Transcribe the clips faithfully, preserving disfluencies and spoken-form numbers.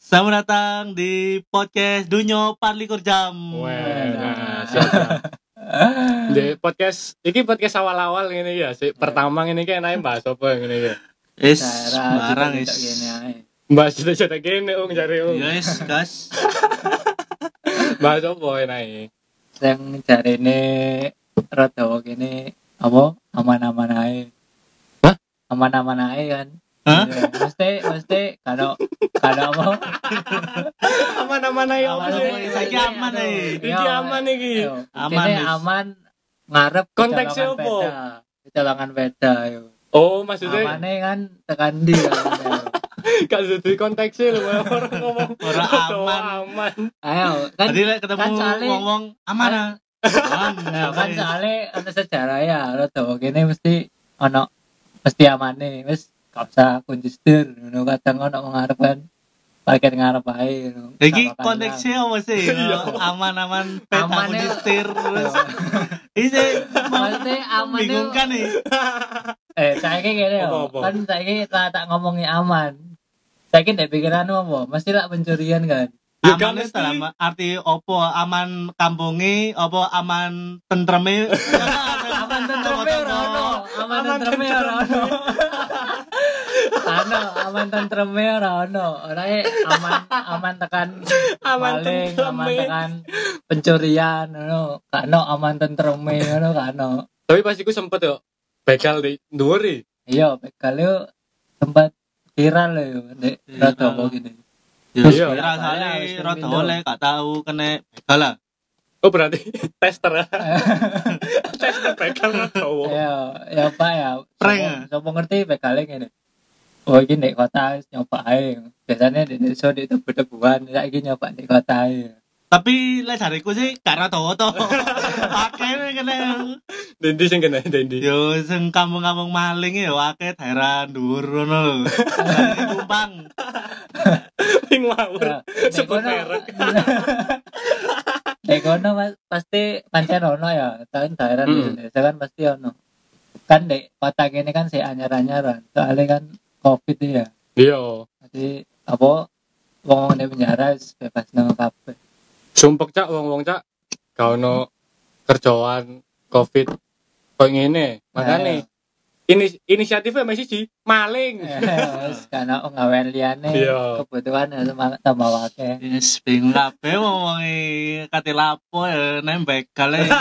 Selamat datang di podcast Dunyo Parlikur Jam. Wah, nah, siap. Di podcast, iki podcast awal-awal ngene ya, sik pertama ngene iki enake bahas apa ngene iki. Is barang is. Bahas cerita gini ung jare ung. Yes, gas. Bahas apa enake? Sing jarene rada kene apa aman-aman ae. Hah? Aman-aman ae kan. Hah? Ya, mesti msti kalau kalau apa? Aman-aman ae apa Aman, sih? aman, Saiki aman ae. Iki aman iki. Aman, Ini Wis. aman ngarep Konteksnya kecolongan apa? beda. Kecolongan beda yo. Oh, maksudnya Amane kan tekan ndi kan. gak sesuai konteksnya lho orang ngomong. Ora Aduh, aman. aman. Ayo kan Tadi lek ketemu kan soalnya- ngomong aman ah. Aman. ya, kan soalnya ana sejarah ya rada kene mesti ana mesti amane wis gak usah kunci setir ngono kadang ana wong ngarep kan parkir ngarep ae ngono. Iki Sama konteksnya apa sih? Aman-aman peta Aman ya. setir terus. Ini Maksudnya aman itu membingungkan nih. eh saiki kene yo. Apa-apa? Kan saiki tak tak ngomongi aman. Saiki ndek pikiranmu apa? Mesti lak pencurian kan. Ya, Aman kan itu mesti. dalam arti opo aman kampunge, opo aman tentreme. Aman tentreme ora ono. Aman tentreme ora ono. Ano, aman tentreme ora ono. Ora e aman aman tekan Aman maling, tentreme. aman tekan pencurian ngono. Gak ono aman tentreme ngono gak ono. Tapi pas iku sempet yo begal di dhuwur iki. Iya, begal yo sempat viral yo ndek Iya. rada apa gini. Ya Iya. kira soalnya rada oleh gak tahu kena begal lah. Oh berarti tester. Tester begal cowok. Ya, ya Pak ya. Prank, Sopo- Sopo ngerti begalnya ngene. Oh, iki ndek kota wis nyoba ae. Biasanya di desa di tebu-tebuan, saiki nyoba di kota ae. Tapi lek jariku sih gak rada to. Akeh kena Dendi sing kena Dendi. yo sing kampung-kampung maling ya akeh daerah dhuwur ngono lho. Lagi tumpang. Ping ngawur. Ya, nek Sebut kono- merek. Nek kono mas- pasti pancen ono ya. Kan daerah di Hmm. desa kan pasti ono. Kan dek kota kene kan sik anyar-anyaran. Soalnya kan Covid ya. Iya. Jadi apa wong di penjara wis bebas nang kabeh. Sumpek cak wong-wong cak gak ono kerjaan Covid koyo ngene. Makane ini inisiatifnya masih siji maling. Wis kana gawean liyane. Iya. Kebutuhan ya semangat tambah akeh. Wis bingung kabeh ngomongi kate lapo ya nek begal e.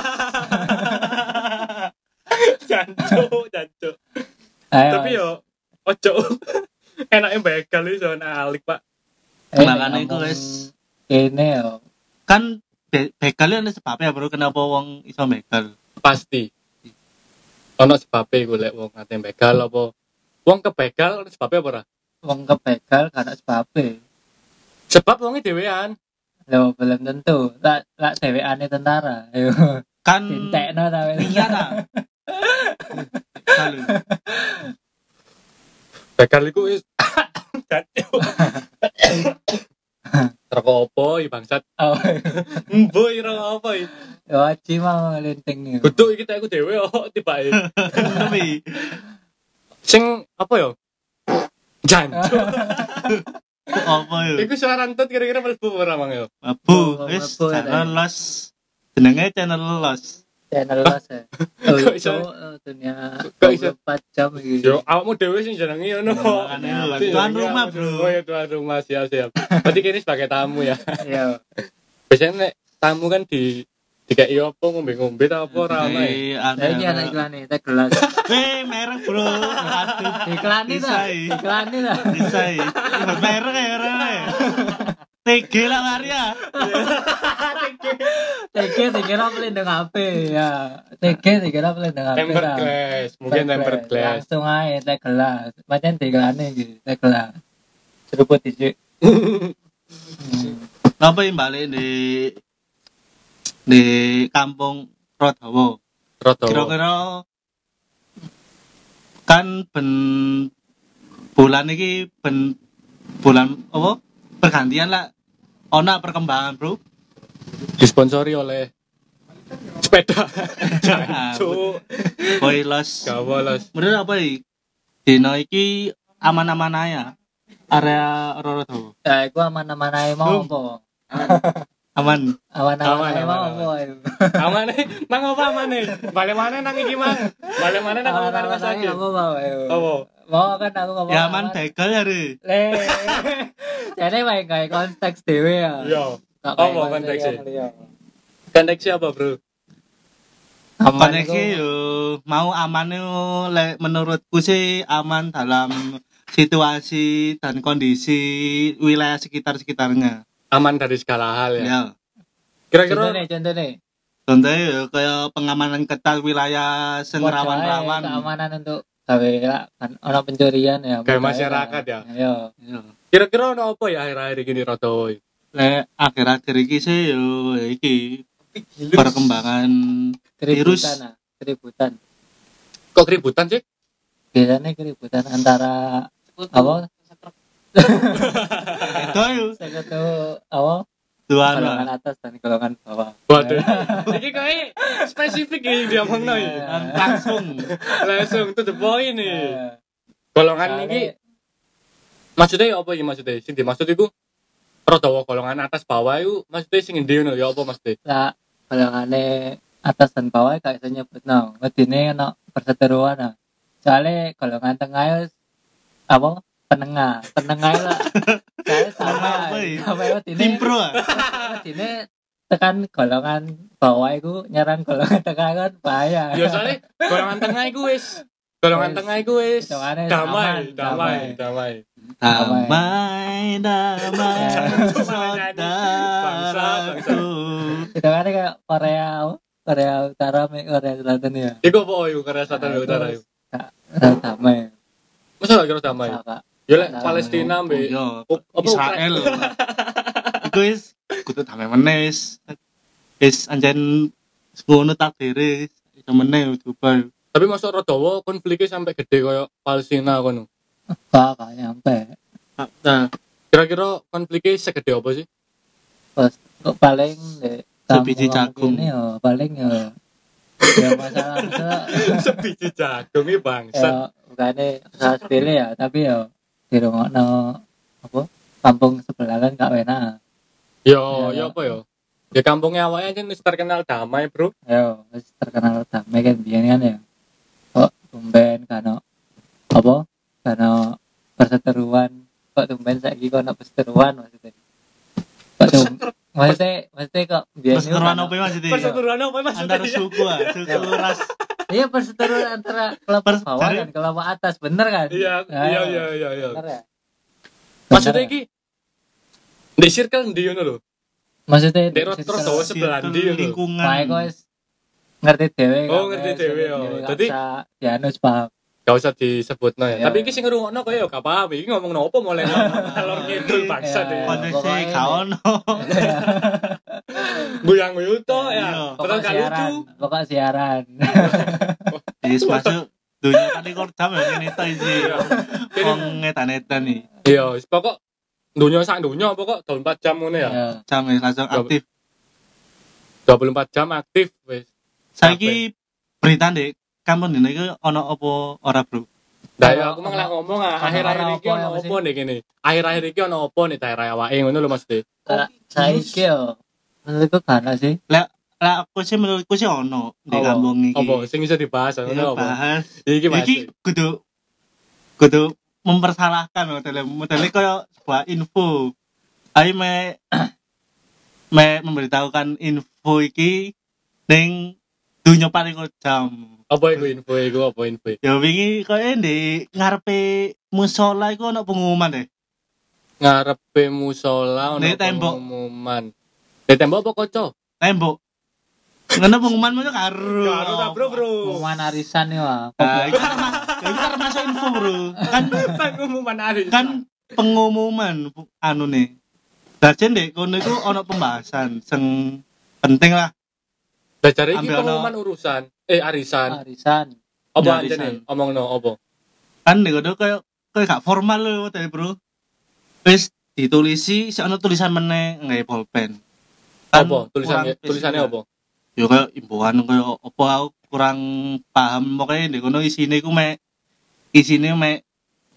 Jancuk, jancuk. Ayo, Tapi yo ojo enake begal iki zona alik, Pak. eh, makanya nek iku ngomong wis- kene yo. Kan be- begal ana sebabnya bro kenapa wong iso begal. Pasti. Ono sebabe iku lek wong ate begal apa wong kebegal ono sebabe apa ora? Wong kebegal karena sebabe. Sebab wonge dhewean. Lho belum tentu. Lak lak dhewekane tentara. Ayo. Kan Dintekno ta wis. niat ah. Kalau Begal iku wis jancuk. Rokok opo iki bangsat? Oh, Mbo iki rokok opo iki? yo aji mau linting nih. Kudu iki tak iku dhewe kok tibake. tapi Sing apa yo? Jancuk. apa yo? Iku suara rantut kira-kira mlebu ora mang yo? Abu, Oh, wis mlebu, channel los. Jenenge channel los. Channel los ya. Oh, Kok itu iso? eh, dunia Kok iso? dua puluh empat jam iki. Yo awakmu dhewe sing jenenge ngono. Makane lho, tuan rumah, bro. Oh ya tuan rumah siap siap. Berarti kini sebagai tamu ya. Iya. Biasanya nek tamu kan di dikai apa ngombe-ngombe ta apa ora ana ya? Jadi ada. Saya ini anak iklan nih, teh gelas. Eh, merek bro. Aduh. Iklan nih Bisa, ta? iya. Iklan nih ta? Bisa ya. Buat merek ya orang ya. T G lah Maria. T G dikira pelindung H P ya. T G dikira pelindung H P Tempered lah. glass, mungkin tempered glass. Langsung aja teh gelas. Macam di iklan nih teh gelas. Seruput dicik. Apa yang balik di di kampung Rodawo? Roto. Kira-kira kan ben bulan ini ben bulan apa pergantian lah ona perkembangan bro. Disponsori oleh sepeda. Jancuk. Boy los Gak bolos. menurut apa iki dino iki aman-aman aja area Roro tuh. Ya iku aman-aman ae mau apa? Aman. Aman-aman ae mau Aman, apa? Amane nang apa amane? Balik mana nang iki mang? Balik mana nang omongan Mas Aman-aman ae Agil? apa mau ayo. Apa? Mau kan aku ngomong. Ya aman begal ya, Re. Le. Jadi main kayak konteks dhewe ya. Iya. Gak Apa kayak konteksnya? yang liya. Koneksi apa, Bro? Aman Koneksi iku yo mau aman yo le, menurutku sih aman dalam situasi dan kondisi wilayah sekitar-sekitarnya. Aman dari segala hal ya. Ya. Kira-kira contohnya contohnya Contohnya yo kayak pengamanan ketat wilayah sing Buat rawan-rawan. wae keamanan untuk gawe kan ono pencurian ya. Kayak buat wae masyarakat lah. ya? Iya. Ya. kira-kira ono apa ya akhir-akhir ini Rodo? Le akhir-akhir iki sih yo iki perkembangan virus. Keributan ah, keributan. Kok keributan sih? Biasanya keributan antara apa? Itu yo Sekutu apa? dua Golongan anak. atas dan golongan bawah. Waduh. Iki kok spesifik ya dia ngomongno iki. Iya. Langsung Langsung to the point nih. Eh, Golongan soalnya- iki maksudnya apa iki maksudnya? Sing dimaksud iku Rodo golongan atas bawah iku maksudnya sing endi ngono ya apa maksudnya? lah golongane atas dan bawah gak iso nyebutno. Wedine ono perseteruan ah. Soale golongan tengah ya apa? Penengah, penengah lah. Soale sama. Apa ya? Sama wedine. Timpro. ah. Wedine tekan golongan bawah iku nyerang golongan tengah kan bahaya. Ya soalnya golongan tengah iku wis golongan Wis, tengah iku wis hitungane damai, aman, damai, damai. Damai, damai, Bangsa, bangsa. saudaraku. Itu kan kayak Korea, apa? Korea Utara, me- Korea Selatan ya. Iku apa iku Korea Selatan dan Utara iku? Udah damai. Masa gak kira damai? Kakak. Ya lek Damai. Palestina mbek Yo, Up- apa, Israel. Iku wis kudu damai meneh. wis. Wis anjen ngono takdire. Iso meneh coba. tapi masuk Rodowo konfliknya sampai gede kayak Palestina kono. Gak, gak nyampe. Nah, Kira-kira konfliknya segede apa sih? Pas kok paling deh. Sebiji jagung. Ini ya, paling ya. Ya masalah masalah. Sebiji jagung iki bangsat. Ya, bukannya usaha sepele ya, tapi ya di rumah apa kampung sebelah kan gak enak. Yo, Ya, yo apa yo? Ya kampungnya awalnya kan wis terkenal damai, Bro. Ya, wis terkenal damai kan biyen kan ya. Kok tumben kano apa? Kano perseteruan. Kok tumben saiki kok ono perseteruan maksudnya. Kok tum maksudnya maksudnya kok biyen itu perseteruan kano- apa ya, maksudnya? Perseteruan apa maksudnya? Antar suku ah, suku ras. Iya perseteruan antara kelompok Pers- bawah dari- dan kelompok atas, bener kan? Iya, Ya, iya, ya. iya, iya, iya. Bener ya? Maksudnya Bener ya? iki di circle ndi ngono lho. Maksudnya Di Rodowo sebelah ndi ngono. lingkungan. Baik kok wis ngerti dhewe. Oh, kan, ngerti wis, dhewe, ngerti oh. dhewe, gak Dadi- usah dianus paham. Gak usah disebutno ya. Iya. Tapi iki sing ngrungokno kok ya gak paham. Iki ngomong nopo mulai ngalor ngidul bangsat Iya. iki. Kondisi Pokoknya gak ini. ono. Guyang guyu to ya. Iya. Padahal Pokok gak siaran, lucu. pokok siaran. Wis masuk dunia kan iku jam ya ngene to iki. Iya. Wong ngetan-etan nih. Iya, wis pokok dunia sak dunia pokok dua puluh empat jam ngono ya. Ya. Jam wis langsung aktif. dua puluh empat jam aktif wis. Saiki berita ndek kampung dene iki ono apa ora, Bro? Nah, ya Ono- aku malah ngomong ah, ono- akhir-akhir ono iki apa ono ya, opo nih gini. Akhir-akhir iki ono opo nih daerah awake ngono lho Mas De. Sa- Saiki yo menurutku kana sih. Lah aku sih menurutku sih ono di Apa? kampung iki. Apa sing iso dibahas Ya, ngono apa? bahas. Iki Mas. Iki kudu kudu mempersalahkan modele modele kaya sebuah info. Ayo me me memberitahukan info iki ning dunia paling jam. Apa iku info iku apa info? Ya wingi kaya di ngarepe musola iku ono pengumuman deh. Ngarepe musola ono Nek tembok. pengumuman. Nek tembok apa kaca? Tembok. Ngono pengumuman mu karo. Karo ta, Bro, Bro. Pengumuman arisan yo. ah. Nah, itu kan mas- itu kan masuk info, Bro. Kan Pengumuman hari. kan pengumuman bu- anu nih. Dajen dek kono iku ono pembahasan sing penting lah. Belajar iki Ambil ono- pengumuman urusan. Eh arisan. Arisan. Apa Ya, anjene? arisan. Omongno apa? Kan nek kono kaya kaya gak formal lho tadi, Bro. Wis ditulisi sik ono tulisan meneh nggae pulpen. Kan Apa? Tulisannya kurang tulisannya spesifik. apa? Ya kaya imbauan kaya apa aku kurang paham pokoknya nek kono isine iku mek isine mek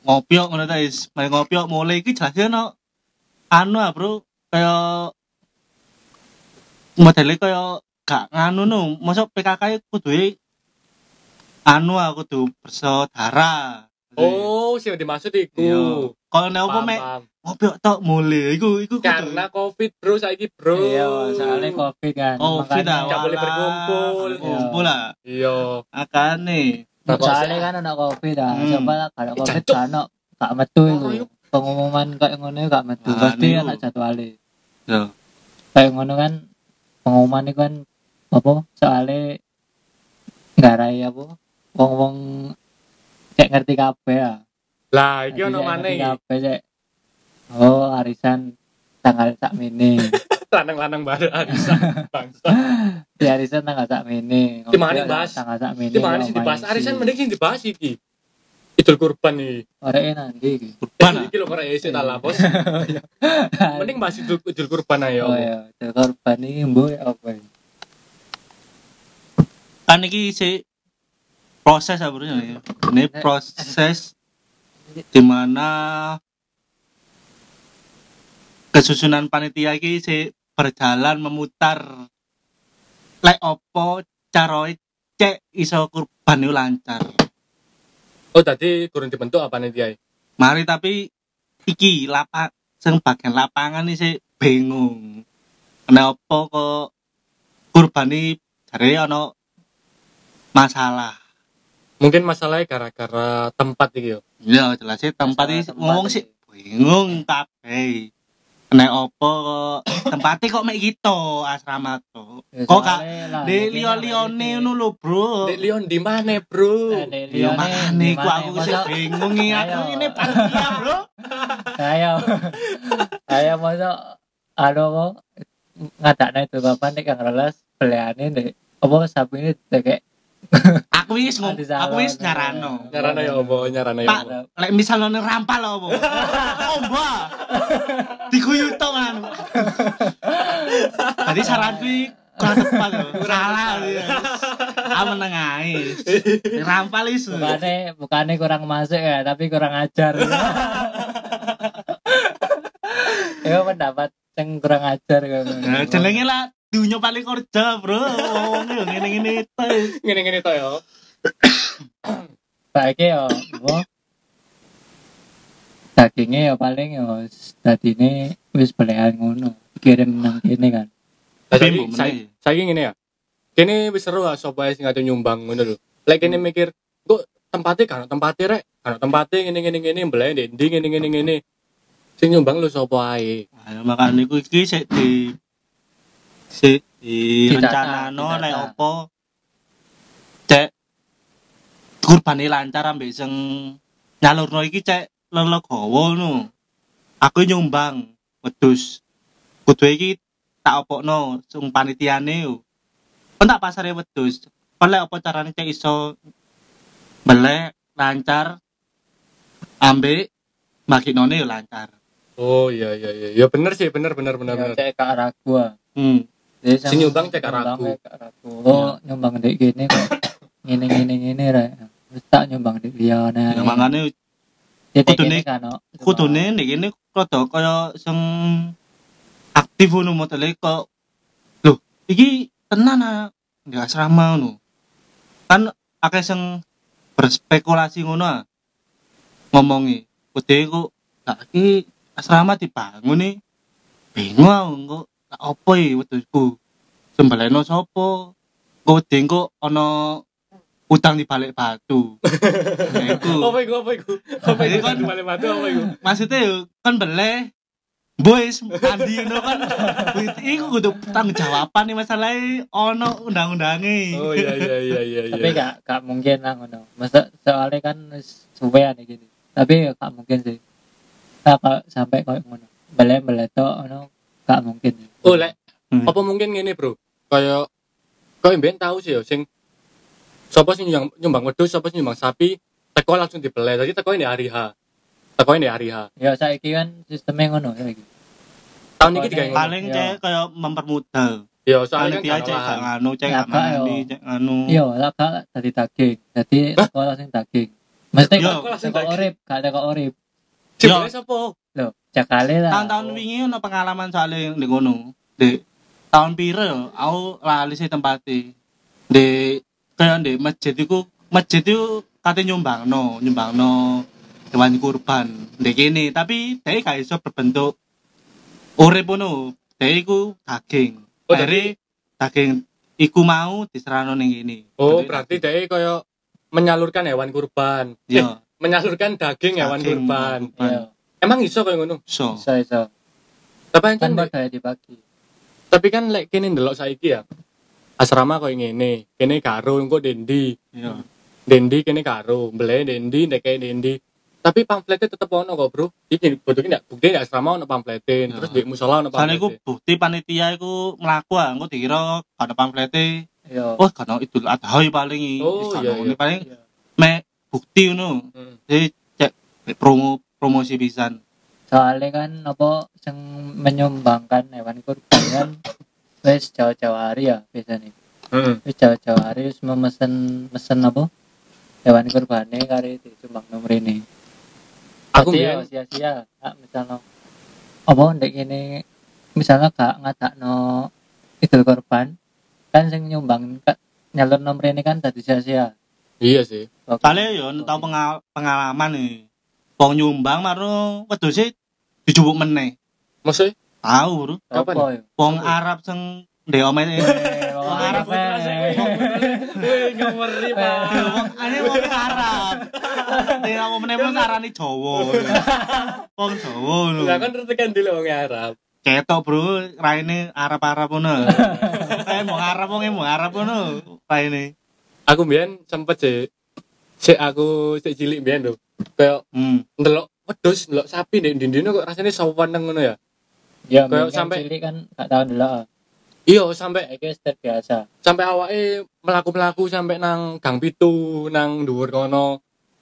ngopiok ngono ta is. Mari ngopiok mulai iki jelas ono anu ah, Bro. Kayak modele kaya gak nganu no. Mosok P K K kudu anu ah kudu bersaudara. Oh, sing dimaksud iku. Iya. Kalau nek opo Paham, mek paham. ngopiok tok mulai iku iku kudu. Karena Covid, Bro, saiki, Bro. Iya, soalnya covid kan. Covid ah, Nggak boleh walah. berkumpul. Kumpul lah. Iya. Akane. Soalnya kan anak covid ah. Hmm. Coba lah kalau covid Jancuk. kan ono gak metu Oh, iku. yuk. Pengumuman kayak ngono gak metu. Ah, Pasti niku. anak jadwale. Yo. Kayak ngono kan pengumuman itu kan apa? Soalnya garai apa? Wong-wong cek ngerti kabeh ah. Lah, iki Jadi ono cek maneh ngerti iki. kabeh cek. Oh, arisan tanggal sak mini. Lanang-lanang baru arisan bangsa. Di arisan tanggal sak mini. Di mana bahas? Tanggal sak mini. Di mana sih dibahas arisan mending sing dibahas iki. Idul Kurban iki. Oreke nanti iki. Kurban ah. Iki lho kok esuk ta lah, Bos. Mending bahas Idul, Idul Kurban ayo. Oh ya, Idul Kurban iki mbok apa ya? Kan iki si proses apa ya? Ini proses di mana kesusunan panitia iki si berjalan memutar lek opo caroe cek iso kurban itu lancar. Oh, tadi kurang dibentuk apa nih dia? Mari tapi iki lapak sing bagian lapangan iki sik bingung. Kenapa kok kurban iki jare ana masalah. Mungkin masalahnya gara-gara tempat iki yo. Ya jelas sih tempat Masalah iki tempat ngomong iki. sih bingung kabeh. Nek opo kok tempatnya kok mek gitu asrama to. Ya, Kok gak soalnya lah, di mungkin liyo-liyone lah, ngono lho, Bro. Dek Leon di mana, Bro? Eh, Dek Ya Lione, makane di ku mana? aku sih Masa- bingung iki aku Ayo. ini panitia, Bro. Ayo. Ayo masa anu kok ngadakne itu bapak nek kang relas beliane nek apa sapi ini kayak Aku wis ngom- Adi Salon. aku wis nyarano. Nyarana ya apa? Nyarana ya Pak, apa? lek misalnya rampal apa? Omba. Diguyu tok kan. Tadi saranku iki kurang tepat lho. Salah dia. Ah meneng ae. Rampal isu. bukane bukane kurang masuk ya tapi kurang ajar. Ya pendapat yang kurang ajar kan. Nah, jenenge lah dunya paling kerja, Bro. Wong yo ngene-ngene to. Ngene-ngene to ya. Saiki yo apa? Dagingnya ya paling ya dadine wis belehan ngono. Kirim nang kene kan. Lah Tapi saiki mbok saiki meneh. saiki ngene ya. Kene wis seru ah sapa ae sing ate nyumbang ngono lho. Lek kene mikir, kok tempatnya kan tempatnya rek, kan tempatnya ngene-ngene ngene mbelae ndi ndi ngene-ngene ngene. Sing nyumbang lho sapa ae. Ayo makane iku iki sik di sik di Ditata, rencanano ditata. lek opo cek kurbane lancar ambek sing nyalurno iki cek lelegowo ngono. Aku nyumbang wedhus. Kudu iki tak opokno sing panitiane yo. Kon tak pasare wedhus. Kon lek opo carane cek iso belek lancar ambek makinone yo lancar. Oh iya iya iya. Ya bener sih, bener bener bener Ya bener. cek kak ragu. ah. Hmm. Jadi Si nyumbang cek kak nyumbang ragu. cek kak ragu. Oh nyumbang dek gini kok ngene ngene ngene rek. Wis tak nyumbang dek liyane. Ya makane Jadi kudune- kene kan no. kudune nek kene rada kaya sing aktif ngono modele kok lho iki tenan ah di asrama ngono kan akeh sing berspekulasi ngono ah ngomongi kudu kok gak iki asrama dibangun nih bingung aku kok gak apa iki wedhusku sembaleno sapa kok wedi kok ana utang di balik batu. Nah, iku. Apa iku apa iku? Apa iku Jadi kan- kan balik batu apa iku? Maksudnya yo kan beleh boys mandi ngono kan iku kudu tanggung jawaban nih masalahnya ono undang-undange. Oh iya iya iya iya iya. Tapi gak gak mungkin lah ngono. Masa soalnya kan wis suwean iki gini. Tapi ya gak mungkin sih. Nah, kalau sampai koyo ngono. Bele-bele tok ngono gak mungkin. Oh lek Hmm. apa mungkin ngene, Bro? Kayak koyo mben tahu sih yo sing sapa sing nyumbang nyumbang wedhus, sapa sing nyumbang sapi, teko langsung dibeleh. Jadi teko ini hari H. Teko ini hari H. Ya saiki kan sistemnya ngono ya iki. Tahun ini digawe ngono. Paling Iya. cek kayak mempermudah. Ya soalnya Panitia kan cek gak gak lahan. nganu cek Ya, gak Kak, mandi yo. cek nganu. Iya, lah gak dadi daging. Dadi sekolah sing daging. Mesti Yo, kok kok urip, gak ada kok urip. Jebule sapa? Lho, jakale lah. Tahun-tahun wingi ono pengalaman soalnya di kono. Di tahun piro yo, aku lali sih tempatnya. Di kayak di masjid iku, masjid itu katanya nyumbangno, nyumbangno hewan kurban. Di kene, tapi dia gak iso berbentuk urip ngono. Dia iku daging. Oh, Dari daging iku mau diserahno ning kene. Oh, Bentuk berarti daging. dia koyo menyalurkan hewan kurban. Eh, Iya, menyalurkan daging hewan daging kurban. Iya, Emang iso koyo ngono? So, iso iso. Tapi Kan kan padha dibagi. tapi kan lek kene ndelok saiki ya. Asrama koyo ngene, kene karo engko dendi. iya. Dendi kene karo, mbele dendi nek kene dendi. Tapi pamfletnya tetep ono kok, Bro. Iki bodoh ndak bukti ndak asrama ono pamfletin, Ya. terus di musola ono Soalnya iku pamfletin. bukti panitia iku mlaku ah, engko dikira ada pamflete. Iya. Wah, kan Idul Adha paling Oh, wis iya, kan iya. paling Iya. me bukti ngono. Hmm. Jadi cek promo promosi pisan. Soalnya kan apa yang menyumbangkan hewan kurban kan wis jauh-jauh hari ya biasanya. Heeh. Wis jauh-jauh hari wis memesen mesen apa hewan kurbane kare disumbang nomor ini. Aku Jadi mbiyen ya sia-sia. Nah, misalnya apa ndek ini misalnya gak ngadakno idul kurban kan sing nyumbang ka- nyalur nomor ini kan dadi sia-sia. iya sih. Kale yo tau pengal- pengalaman nih. Wong nyumbang marno wedhuse dijupuk meneh. Maksudnya Tahu, Bro. Kapan? Apa ya? Wong Siapa? Arab sing ndek omah Eh, wong Wong Arab Arab, eh. Wih, ngomeri, Pak. Wong ane wong Arab. Nek apa meneh wong ngarani Jawa. Wong Jawa lho. Lah kan tekan dulu wong Arab. Ketok, Bro, raine Arab-Arab ngono. Kayak wong Arab wong wong Arab ngono raine. Aku mbiyen sempet sih sik aku sik cilik mbiyen lho. Kayak Hmm. ndelok wedhus, ndelok sapi ndek ndine kok rasane saweneng ngono ya. Ya, Kayak mungkin sampai- cilik kan gak tau ndelok. Iya, sampai Iki wis terbiasa. sampai awake melaku-melaku sampai nang gang pitu, nang dhuwur kono.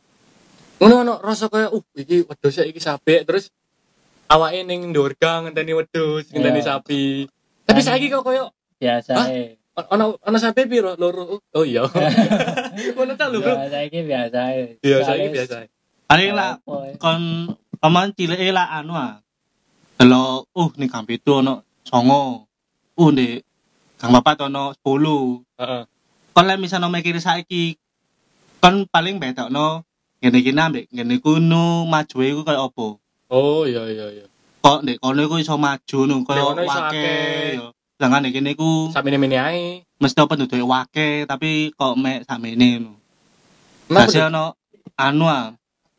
Ngono ono rasa kaya uh iki wedhus iki sapi terus awake ning dhuwur gang ngenteni wedhus, ngenteni Iya. sapi. Tapi Kan- saiki kok koyo Biasa Hah? eh. ono ono sapi piro? Loro. Oh iya. Ngono ta lho, Bro. Ya, saiki biasa eh. Iya, saiki Soalnya biasa. Paling lah apa, eh. kon paman cileke lah anu ah. Delok uh ning gang pitu ono songo. Uh ndek gang papat ono sepuluh. Heeh. Kon lek misalnya mikir saiki kon paling bedokno ngene iki ambek ngene kuno majue iku kaya apa? Oh iya iya iya. Kok ndek kono iku iso maju no Ndek kaya kono iso wake akeh. yo. Sedangkan ndek kene iku Sakmene-mene ae. mesti apa penduduk wake tapi kok mek sakmene no. Kenapa Masih ono anu ah.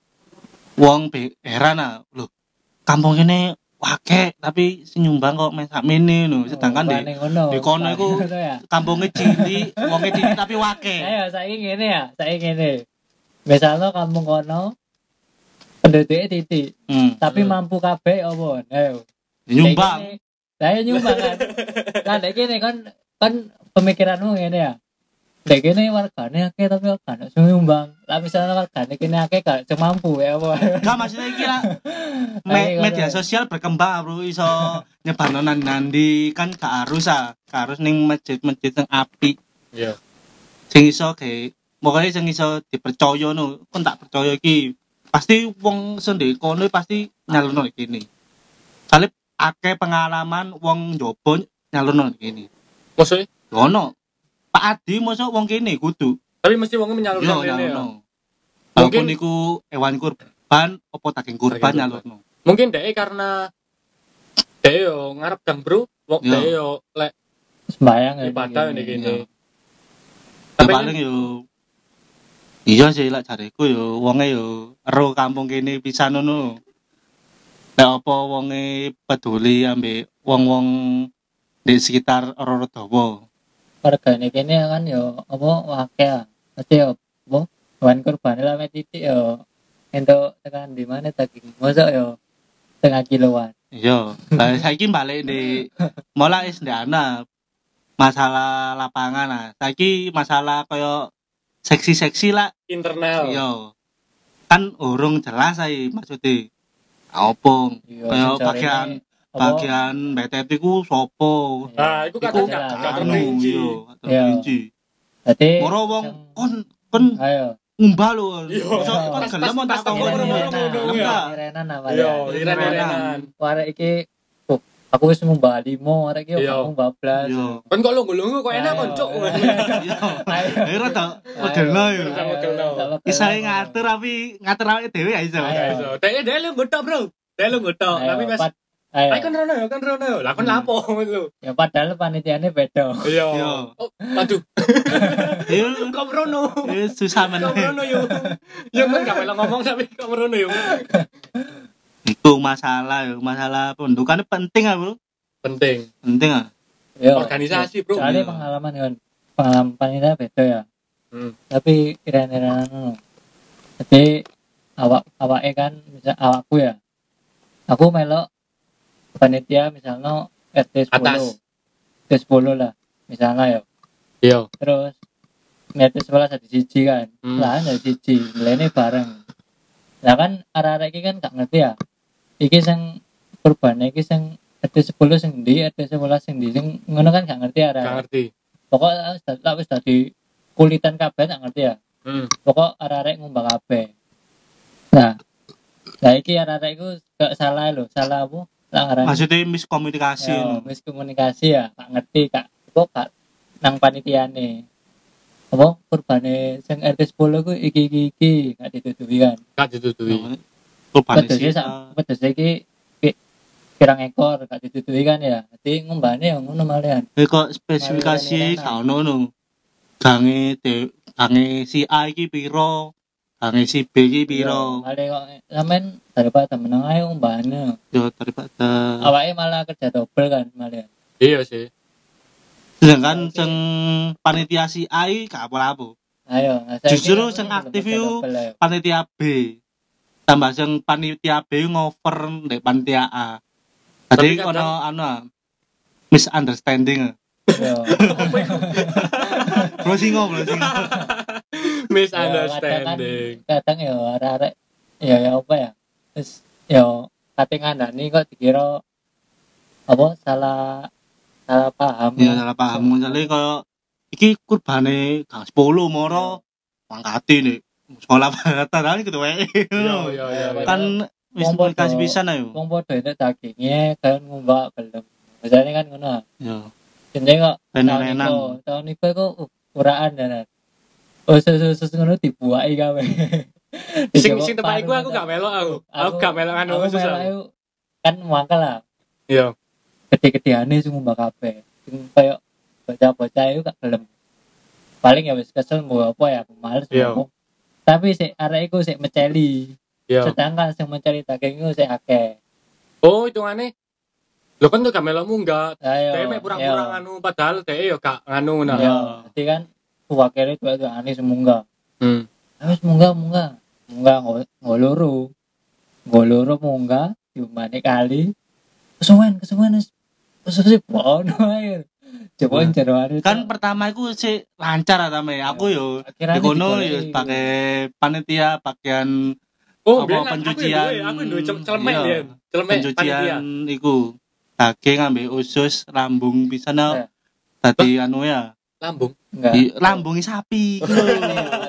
Wong be heran ah. Lho, kampung ini wake tapi sing nyumbang kok mek sakmene no. Sedangkan Oh, di paling ngono. di kono Paling iku ngono ya. kampungnya cilik, wongnya cilik tapi wake. Ayo saiki ngene ya, saiki ngene. Misalnya kampung kono penduduknya titik, Hmm. tapi Hmm. mampu kabeh apa? Ayo. Nyumbang. Saya nyumbang kan. Kan dek kene kan kan pemikiranmu ngene ya. Dek kene wargane akeh tapi kan sing nyumbang. Lah misalnya wargane kene akeh gak sing mampu ya apa. Enggak maksudnya iki lah. Ayo, Me- media ayo. sosial berkembang bro iso nyebarno nandi kan gak harus ah. Gak harus ning masjid-masjid sing apik. Iya. Sing iso ge pokoknya sing iso dipercaya no. Kon tak percaya iki. Pasti wong sendiri kono pasti nyalurno iki. Soale akeh pengalaman wong njobo nyalurno iki. Maksudnya? Ono. Pak Adi mosok wong kene kudu. Tapi mesti wong Yo menyalurkan ini ya. nyalurno. Mungkin- Mungkin niku hewan kurban apa daging kurban Daging kurban. nyalurno. Mungkin dek karena dek yo ngarep gang bro, wong Yo. dek yo lek Sembayang ya. ibadah ini Iya. gini. Ya Tapi paling yo iya sih lek jareku yo wonge yo ero kampung kene pisan ngono. Lek apa wonge peduli ambek wong-wong di sekitar Roro Dawa. Wargane kene kan yo apa wake ya. Mesti yo apa hewan kurban lah mek titik yo. Entuk tekan di mana daging mosok yo setengah kiloan. Iya, lah saiki balik di mola wis ndak ana masalah lapangan nah. Saiki masalah kaya seksi-seksi lah. internal. Iya. Kan urung jelas ae maksudnya. Apa? Iya, Kaya sejarahnya bagian apa, bagian B T T ku sopo? Nah, itu Iku kadang jelas. gak gak anu terperinci. iya, Iya. terperinci. Jadi Moro wong yang- kon kon ayo ngumbah lho. Iya. Iso kon Pas- gelem pas- tak pas tonggo tonggo ngono. ngono, Enggak. ya. Irenan apa Iya, ya? iren-irenan. Arek iki oh, aku wis ngumbah limo, arek iki Iya. aku ngumbah blas. Iya. Kan kok lungguh-lungguh kok enak kon, Cuk. Iya. Ayo rada modelno yo. Rada modelno. Bisa ngatur tapi ngatur awake dhewe ya iso. Ayo. Iso. Dek dek lu gotok, Bro. Dek lu gotok, tapi pas ayo. ayo kan rono ya, kan rono ya. Lah kon Hmm. lapo ngono. Ya padahal panitiane beda. Iya. Iya. Oh, waduh. Yo Kok rono. yo susah men. Kok rono yo. Ya kan gak melok ngomong tapi kok rono yo. Iku masalah yo, masalah pendudukan penting ah, Bro. Penting. Penting ah. Ya, Organisasi, Bro. soalnya Iya. pengalaman kan pengalaman panitia beda ya. Hmm. Tapi iren-irenan ngono. Jadi awak awake kan misal awakku ya. Aku melok panitia misalnya R T sepuluh. Atas. R T sepuluh lah misalnya ya. Iya. Terus R T sebelas ada siji kan. Hmm. Lah ada siji, mulane bareng. Lah kan arek-arek iki kan gak ngerti ya. Iki sing kurbane iki sing R T sepuluh sing ndi, R T sebelas sing ndi sing ngono kan gak ngerti arek. Gak ngerti. Pokok tak wis dadi kulitan kabeh gak ngerti ya. Hmm. Pokok arek-arek ngumbang kabeh. Nah, lah iki arek-arek iku gak salah lho, salah apa? Lah ngarani. Maksudnya miskomunikasi. Ya, no. miskomunikasi ya, gak ngerti kak. Kok gak nang panitiane. Apa kurbane sing R T sepuluh ku iki iki iki gak ditutupi kan. Gak ditutui. Kurbane Pedese sih. sak pedese iki pi- pirang ekor gak ditutupi kan ya. Dadi ngumbane ya ngono malian. Eh kok spesifikasi Mari-mari gak ono no. Gange de gange si A iki piro? Gange si B iki piro? Male kok sampean daripada meneng ae ngumbane. Yo daripada Awake malah kerja double kan malian. Iya sih. sedangkan sing panitia si A iki gak apa-apa. Ayo, nah, saiki Justru aku sing belum aktif kerja yo double ayo. panitia B. Tambah sing panitia B ngover ndek panitia A. Tapi Jadi kadang- ono anu ah, misunderstanding. Yo. Bro singo, bro singo. Misunderstanding. Kadang ya arek-arek ya ya apa ya? Terus ya kate ngandani kok dikira apa salah salah paham. Ya salah paham ngene kaya iki kurbane gang sepuluh moro mangkati nek sekolah baratan gitu wae. Iya iya iya. Kan wis Wong komunikasi podo- pisan ayo. Wong padha entuk dagingnya kan ngumbak gelem. Biasanya kan ngono. Ya. Jenenge kok tahun Enak-enak. iku, tahun iku kok uh, uraan dan oh sesuatu ngono dibuaki kabeh. Sing sing tepak iku aku gak melok aku. Aku gak melok anu aku susah. melok iku kan mangkel lah. Iya. Gede-gedeane sing ngumbak kabeh. Sing koyo bocah-bocah iku gak gelem. Paling ya wis kesel mbok apa ya males Iya. ngomong. Tapi sik arek iku sik meceli. Iya. Sedangkan sing mencari daging iku sik akeh. Oh, hitungane. Lho kan tuh gak melok munggah. Ayo. Dhek mek pura-pura nganu padahal dhek yo gak nganu nah. Ya, jadi kan wakilnya tuh itu aneh semunggah. Hmm. Habis munggah munggah. Munggah ngo- ngoloro. Ngoloro munggah diumane kali. Kesuwen kesuwen wis wis wis bono ae. Coba jero hari. Kan pertama iku sih lancar atame. Aku yo akhirnya di kono digoleki. yo pakai panitia bagian Oh, Apa, biyen aku pencucian, duwe, aku duwe cel- celemek iya. biyen. Celemek panitia. pencucian iku daging ambek usus lambung pisan Iya. dadi anu ya Lambung. enggak. di lambungi sapi iku lho.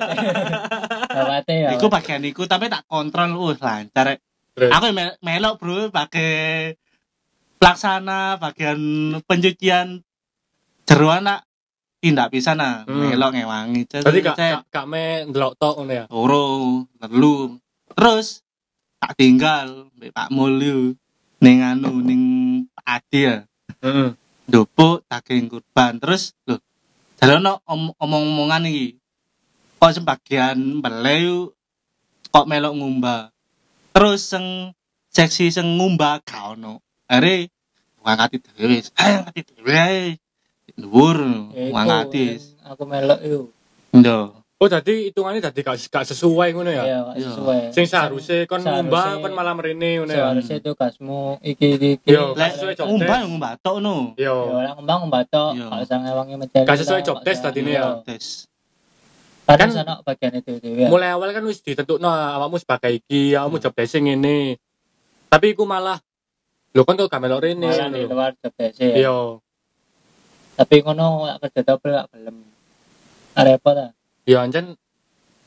Awate ya. Iku bagian iku tapi tak kontrol uh lancar rek. Terus? Aku mel- melok bro pakai pelaksana bagian pencucian jeroan nak tindak pisan nah Hmm. melok ngewangi Berarti gak Cek. gak gak me ndelok tok ngono ya. Loro, telu. Terus tak tinggal mbek Pak Mulyo ning anu ning Pak Adi ya. Heeh. Ndopuk daging kurban. Terus lho, jalono om- omong-omongan iki. Kok sebagian mbele kok melok ngumbah. Terus sing seksi sing ngumbah gak ono. Are ngangkati dhewe. Ayo ngangkati dhewe ae. Dhuwur Ya, iku, ngangkati. yang aku melok itu. Ndo. Oh, dadi hitungane dadi gak gak sesuai ngono ya. Iya, gak Iya. sesuai. Sing seharusnya kon Seharusnya- ngumbah kon malah mrene ngono ya. Seharusnya itu kasmu iki iki iki. Yo, Lek sesuai job ngumbah desk. yo ngumbah tok no. Ya Yo. ora ngembang ngombatok, Iya. gak usah ngewangi mencari. Gak sesuai job desk tadi ini ya. Tes. Kan Kan- sana bagian itu dhewe. Mulai awal kan wis ditentukno awakmu sebagai iki, awakmu job desk ngene. Tapi iku malah lho kon kok gak melok rene. Malah di ngono. luar job desk ya. Iya. Tapi ngono gak kerja double gak gelem. Ah, repot ah. Ya ancen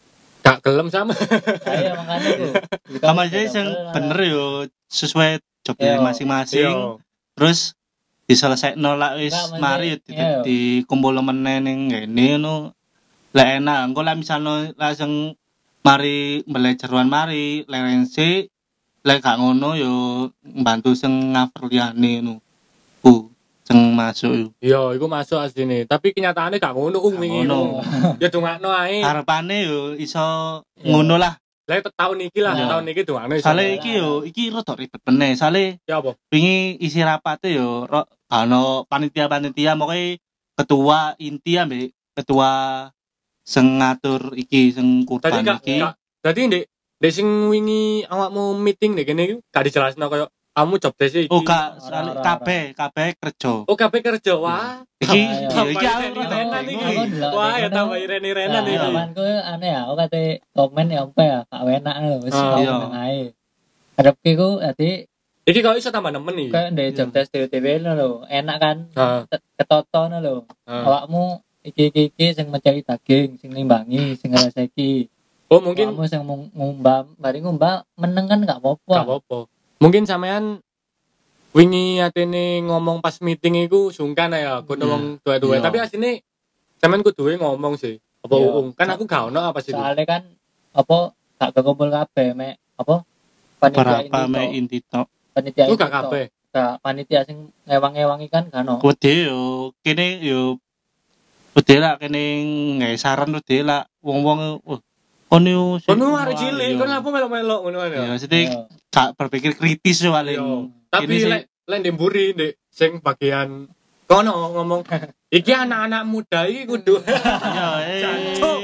gak gelem sama. Ayo makanya ku. Sama aja sing bener yo sesuai job Iya. masing-masing. Iya. Terus diselesaikno lak wis Enggak, maksudnya, mari yo iya. di dikumpul meneh ning ngene ngono. Lek enak engko lek misalno langsung mari mbeleh jeroan mari lerense lek gak ngono yo mbantu sing ngaver liyane ngono. Ku sing masuk yo. Iya, iku masuk asline. Tapi kenyataannya gak ngono ung Gak wingi. ngono. Ya dongakno ae. Harapane yo iso Iya. ngono lah. Lah tahun iki lah, Iya. tahun iki dongakno iso. Sale iki yo iki rada ribet meneh. Sale Ya apa? wingi isi rapate yo ro ono panitia-panitia moke ketua inti ambek ketua sing ngatur iki sing Tadi kurban gak, iki. gak dadi ndek ndek sing wingi awakmu meeting ndek kene iku gak dijelasno koyo kamu job desk iki. Oh gak Ora, ora, kabeh kabeh kerja. Oh, kabeh kerja. Wah. Iki Ayo. yo iki Tambah aku ireni-renan rada iki. bingung. Aku ndelok Wah, dek ya kono. tambah ireni-renan Nah, iki. zamanku aneh ya, aku kate komen ya apa ya, gak enak lho, wis Ah, kok iya. meneng ae. Arepku ku dadi Iki kok iso tambah nemen iki. kayak ndek job desk dhewe lho, enak kan. Heeh. Ketoto lho. Heeh. Awakmu iki iki iki sing mencari daging, sing nimbangi, sing ngraseki. Oh, mungkin Awakmu sing mung- ngumbah, bari ngumbah meneng kan gak apa-apa. gak apa-apa. Mungkin sampean wingi atene ngomong pas meeting iku sungkan ya, kudu Iya. wong tua-tua. Iya. Tapi asline sampean kuduwe ngomong sih. Apa Iya. uung? Kan aku gak ono apa sih. Soalnya kan apa gak kekumpul kabeh mek apa panitia Berapa ini me tok. inti tok. Panitia Lu ini gak tok. kabeh. Gak panitia sing ngewang-ngewangi kan kan ono. Kuwi yo kene yo Udah lah kene nggak saran udah lah wong-wong oh kono yo sing- Kono arek wah, cilik, iya. kon apa melok-melok ngono kan Ya ya. maksudnya Iya. gak berpikir kritis yo paling. Iya. Tapi Ini sih- lek lek ndek mburi ndek sing bagian kono ngomong iki anak-anak muda iki kudu Iya, eh. Jancuk.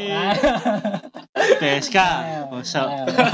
P S K, bosok.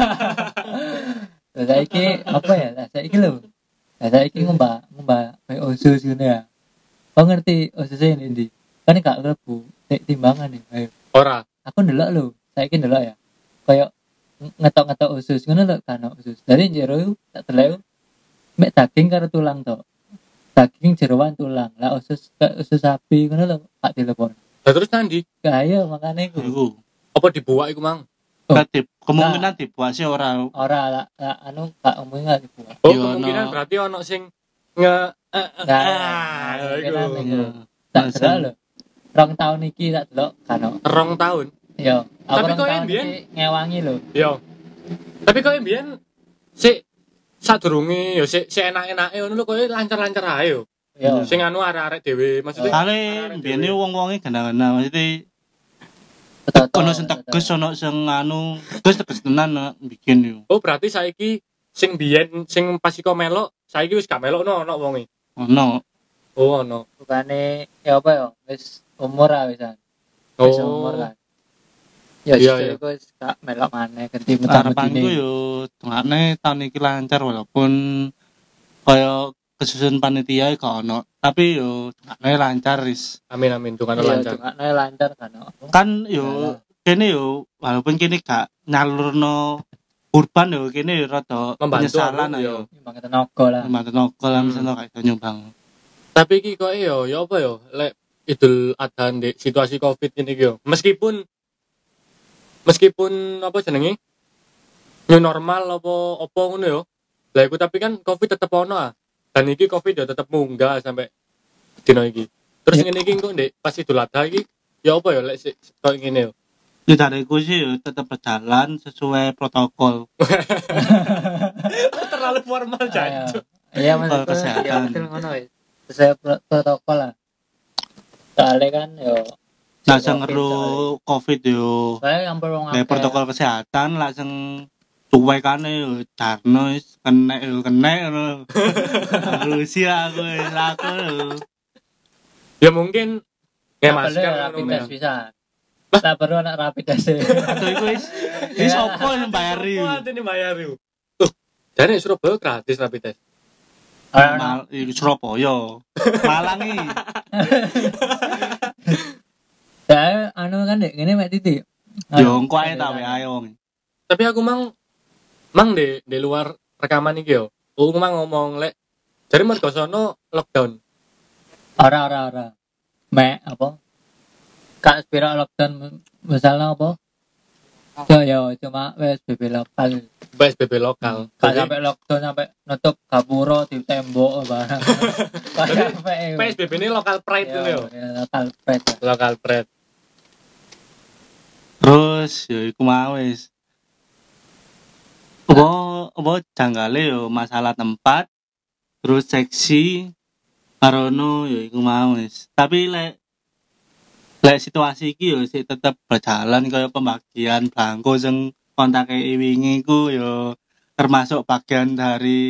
Lah saiki apa ya? Lah saiki lho. Lah saiki ngembak ngembak kayak osus ngene ya. Kau ngerti osus ini ndi? Kan gak klebu tek timbangan nih. Ayo. ora. Aku ndelok lho. Saiki ndelok ya. Kayak ng- ngetok-ngetok usus ngono lho kan usus. Dari jero iku tak delok mek daging karo tulang tok. Daging jeroan tulang. Lah usus kayak usus sapi ngono lho tak telepon. Lah terus nanti Kaya makane iku. Iku. apa dibuak iku mang? Oh. Ketip, kemungkinan dibuat sih orang Ora lah, lah, anu gak omong gak dibuat. Oh, Iya, kemungkinan no. berarti ono sing nge eh, eh, Nah, ah, kemungkinan iku. iku. Tak delok lho. Rong tahun iki tak delok kan. Rong tahun. Yo, aku Tapi rong kok tahun ambien? iki ngewangi lho. Yo. Tapi kok mbiyen sik sadurunge yo sik sik enak-enake ngono lho koyo lancar-lancar ae yo. Yo. Sing anu arek-arek dhewe maksudnya. Kali arek-arek biyen dhewe. wong-wonge gana-gana maksudnya Betul. ono sing tegas ono sing anu tegas tegas tenan nak bikin yo. Oh, berarti saiki sing biyen sing pas iko melok, saiki wis gak melok no ono wonge. Ono. Oh, ono. Bukane ya apa yo? Wis umur ah wisan. Wis umur Oh. kan. Ya Iya, justru iya. iku wis gak melok maneh ganti Harapanku mutan-mutine. yo dongakne tahun iki lancar walaupun kaya kesusun panitia gak ono, tapi yo dongakne lancar wis. Amin amin tukang Iya, lancar. dongakno lancar kan. Kan yo kene yo walaupun kene gak nyalurno kurban yo kene yo rada Membantu penyesalan aku, yo. yo. Nyumbang tenaga lah. Mantan nokol lah Hmm. misalnya kayak iso nyumbang. Tapi iki kok yo ya apa yo lek Idul Adha ndek situasi Covid ini iki yo. Meskipun meskipun apa jenenge? New normal apa apa ngono yo. Lah iku tapi kan Covid tetep ono ah. Dan iki Covid yo tetep munggah sampai dino iki. Terus ngene iki kok ndek pas Idul Adha iki ya apa yo lek sik kok ngene yo. Ya dariku sih yo tetap berjalan sesuai protokol. Terlalu formal jancuk. Iya maksudku kesehatan. ya betul ngono wis. Sesuai pro- protokol lah. Soalnya kan yo Nah, si sing Covid ngeru Covid yo soalnya. Soalnya yang perlu kayak protokol kesehatan langsung cuek kan yo jarno wis kena yo kena ngono. Rusia aku wis aku. Ya mungkin nge Nggak perlu masker ya rapid ngono test ya. bisa. Tak perlu anak rapid test. Atau iku wis wis Ya. opo yang bayar yo. Wah, ini bayar yo. Tuh, jadi Surabaya gratis rapid test. Orang Mal iku Surabaya. Malang iki. saya anu kan dek ini mek titik. Yo engko ae ta wae ae wong. Tapi aku mang mang di di luar rekaman iki yo. Aku mang ngomong lek jadi mergo sono lockdown. Ora ora ora. Mek apa? Kak spira lockdown misalnya apa? Yo yo cuma P S B B lokal. P S B B lokal. Gak Jadi sampai lockdown sampai nutup gapura di tembok barang. Gak sampai. P S B B ini lokal pride Yo, ini yo. ya, lokal pret. Lokal pride. Terus ya iku mau wis. Apa apa janggale yo masalah tempat, terus seksi karono ya iku mau wis. Tapi lek lek situasi iki yo sik tetep berjalan kaya pembagian belangko sing kontake wingi iku yo termasuk bagian dari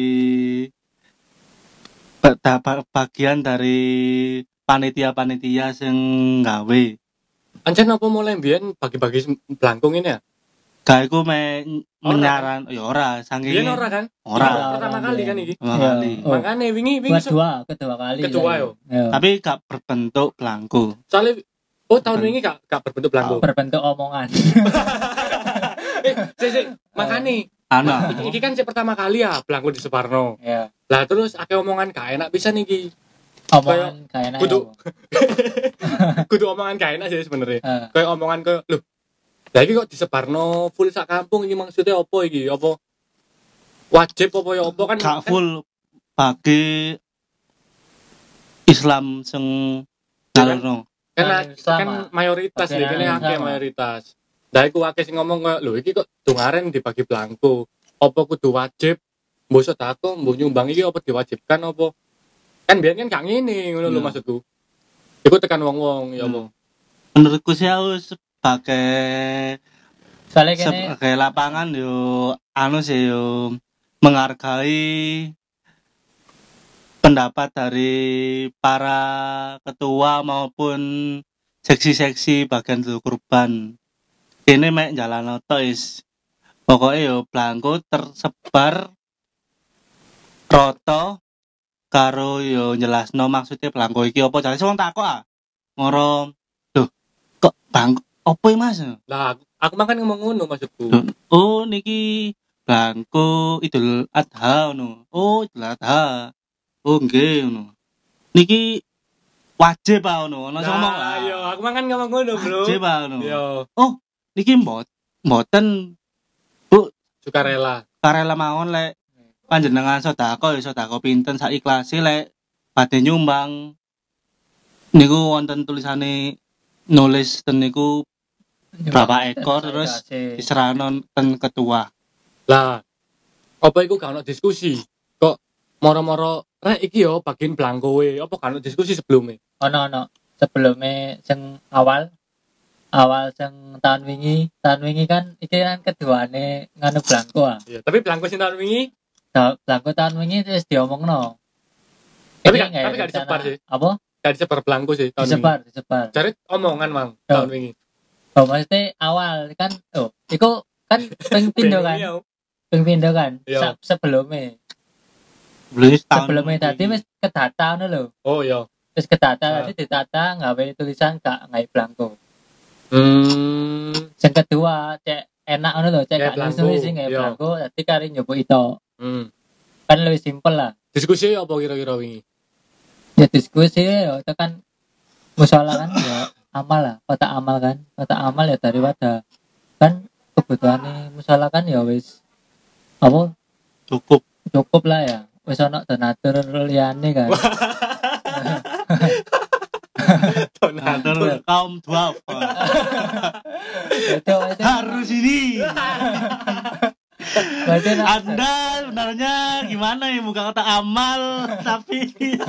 ba- ba- bagian dari panitia-panitia sing gawe. Ancen apa mulai mbiyen bagi-bagi sem- belangkung ini ya? Gawe ku me Ora, menyaran ya ora saking Mbiyen ora kan? ora Iki pertama kali kan iki. pertama Iya. kali. Oh. Makane wingi wingi se- Kedua, kedua kali. Kedua, saya. yo. Yo. Tapi gak berbentuk belangko. soalnya oh tahun wingi gak gak berbentuk belangko. Berbentuk omongan. Eh, sik sik, makane Ana. iki, iki kan sik pertama kali ya belangko di Separno. Ya. Lah terus akeh omongan gak enak bisa niki. Omongan kayak enak. kudu- Kudu omongan gak enak sih sebenarnya. Eh, Kayak omongan ke lho. Lah iki kok di Separno full sak kampung iki maksudnya apa iki? Apa wajib apa ya apa kan? Gak kan- full bagi Islam sing ngalurno. kan, Kan Islam, kan ah. mayoritas Bagian iki ini Islam, akeh ah. mayoritas. Lah iku akeh sing ngomong kayak lho iki kok dungaren dibagi belangko. Apa kudu wajib? Mbok sedako, mbok nyumbang iki apa diwajibkan apa? Kan biyen kan gak ngene ngono lho Iya. maksudku. Iku tekan wong-wong ya apa? Menurutku sih aku sebagai soalnya kene sebagai lapangan yo anu sih yo menghargai pendapat dari para ketua maupun seksi-seksi bagian tubuh kurban. Ini mek jalan oto is. Pokoknya yo belangko tersebar roto karo yo jelasno maksudnya belangko iki apa jare wong takok ah. Ngoro lho kok bangko opo iki Mas? Lah aku, aku makan ngomong ngono maksudku. Oh niki belangko Idul Adha ngono. Oh Idul Adha. Oh nggih ngono. Niki wajib ah ngono. Ono sing ngomong Nah, ah. yo aku makan ngomong ngono, Bro. Wajib ah ngono. Yo, Niki mbot mboten Bu sukarela. karela mawon lek panjenengan sedekah ya sedekah pinten sak ikhlase lek badhe nyumbang niku wonten tulisane nulis ten niku berapa ekor terus diserahno ten ketua. Lah, apa iku gak ono diskusi? Kok moro-moro rek iki yo bagian belangko we. Apa gak ono diskusi sebelumnya? ono ono sebelumnya sing awal awal sing tahun wingi tahun wingi kan iki kan keduane nganu belangko ah. Iya, tapi belangko sing tahun wingi Da- belangko tahun wingi wis diomongno. Tapi Iki gak- nggak tapi gak rencana- disebar sih. Apa? gak disebar belangko sih tahun Disebar, disebar. wingi. Cari omongan mang Yo. tahun wingi. Oh, maksudnya awal kan oh, iku kan ping pindo kan, Iya. ping pindo kan. Iya. Se- sebelumnya Belum tahun sebelumnya tadi wis kedata ngono lho. Oh iya. Wis kedata Ah. tadi ditata nggawe tulisan gak ngai belangko. Hmm. Sing kedua cek enak ngono lho, cek Kayak gak belangko, nulis sing ngai iya. belangko, dadi kari nyoba itu. Hmm. Kan lebih simpel lah. Diskusi apa kira-kira wingi? Ya diskusi ya itu kan musola kan ya amal lah, kota amal kan, kota amal ya daripada kan kebutuhan musola kan ya wis apa cukup. cukup lah ya, wis ono donatur liyane kan. Donatur kaum duafa. itu itu Harus ini. berarti nak- Anda sebenarnya gimana ya buka kota amal tapi itu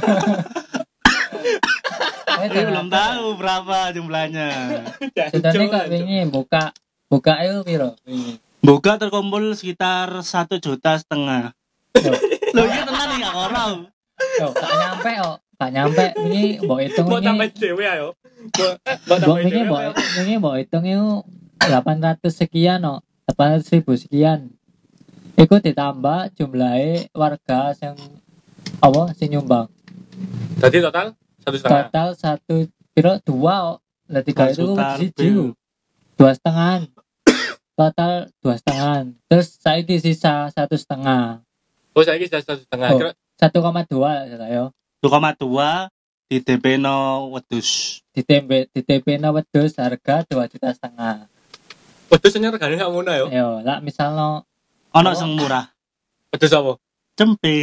saya belum tahu berapa jumlahnya. Sebenarnya kok wingi buka buka itu piro wingi. Buka terkumpul sekitar satu juta setengah. Yo, Loh ini tenan nih gak orang. yo, gak nyampe kok, gak nyampe wingi mbok hitung Mau tambah wingi. dhewe ayo. Mau Mbok tambah wingi dhewe. mbok wingi mbok hitung itu delapan ratus sekian kok, delapan ratus ribu sekian. Iku ditambah jumlahnya warga yang apa sing nyumbang. Jadi total satu setengah. Total satu piro dua kok. Lah tiga Dua itu juta siji lebih. ku. Dua setengah. Total dua setengah. Terus saiki sisa satu setengah. Oh saya sudah satu setengah. Oh. Kira Satu koma dua saya. dua koma dua di D P no wedus. Di tempe di T P na wedhus harga dua juta setengah. Wedhus sing regane gak ngono ya. Yo, lah misalnya Ono Oh. sing murah. Wedhus apa? Cempe.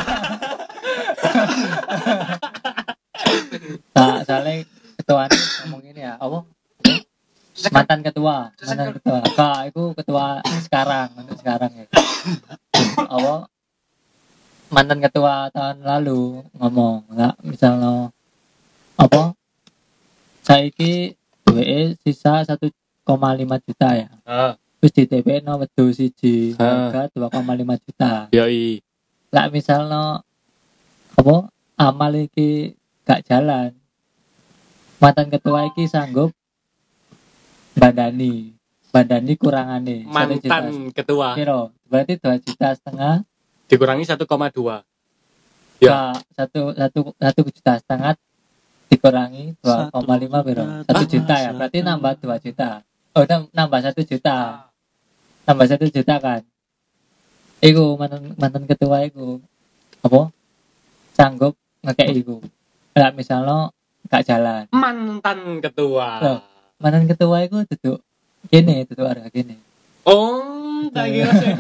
tak saling ketua ini ngomong ini ya, apa? Mantan ketua, mantan ketua. Kak, itu ketua sekarang, untuk sekarang ya. Apa? Mantan ketua tahun lalu ngomong, nggak misalnya apa? Saiki duwe sisa satu koma lima juta ya. Ah, Terus di T P no wedhus siji Ah. harga dua koma lima juta. yoi. Lah misalnya apa? Amal iki gak jalan. Mantan ketua iki sanggup badani. Badani kurangane satu juta. Mantan ketua Kira, berarti dua juta setengah dikurangi satu koma dua. Ya. Ka, satu satu satu juta setengah dikurangi dua koma lima biro satu juta ya, berarti nambah dua juta. Oh, nam- nambah satu juta, nambah satu juta kan? Iku mantan mantan ketua iku apa? Sanggup ngekek iku. Lah misalnya gak jalan, Mantan ketua. Loh. mantan ketua iku duduk gini, duduk harga gini. Oh, tak kira sih.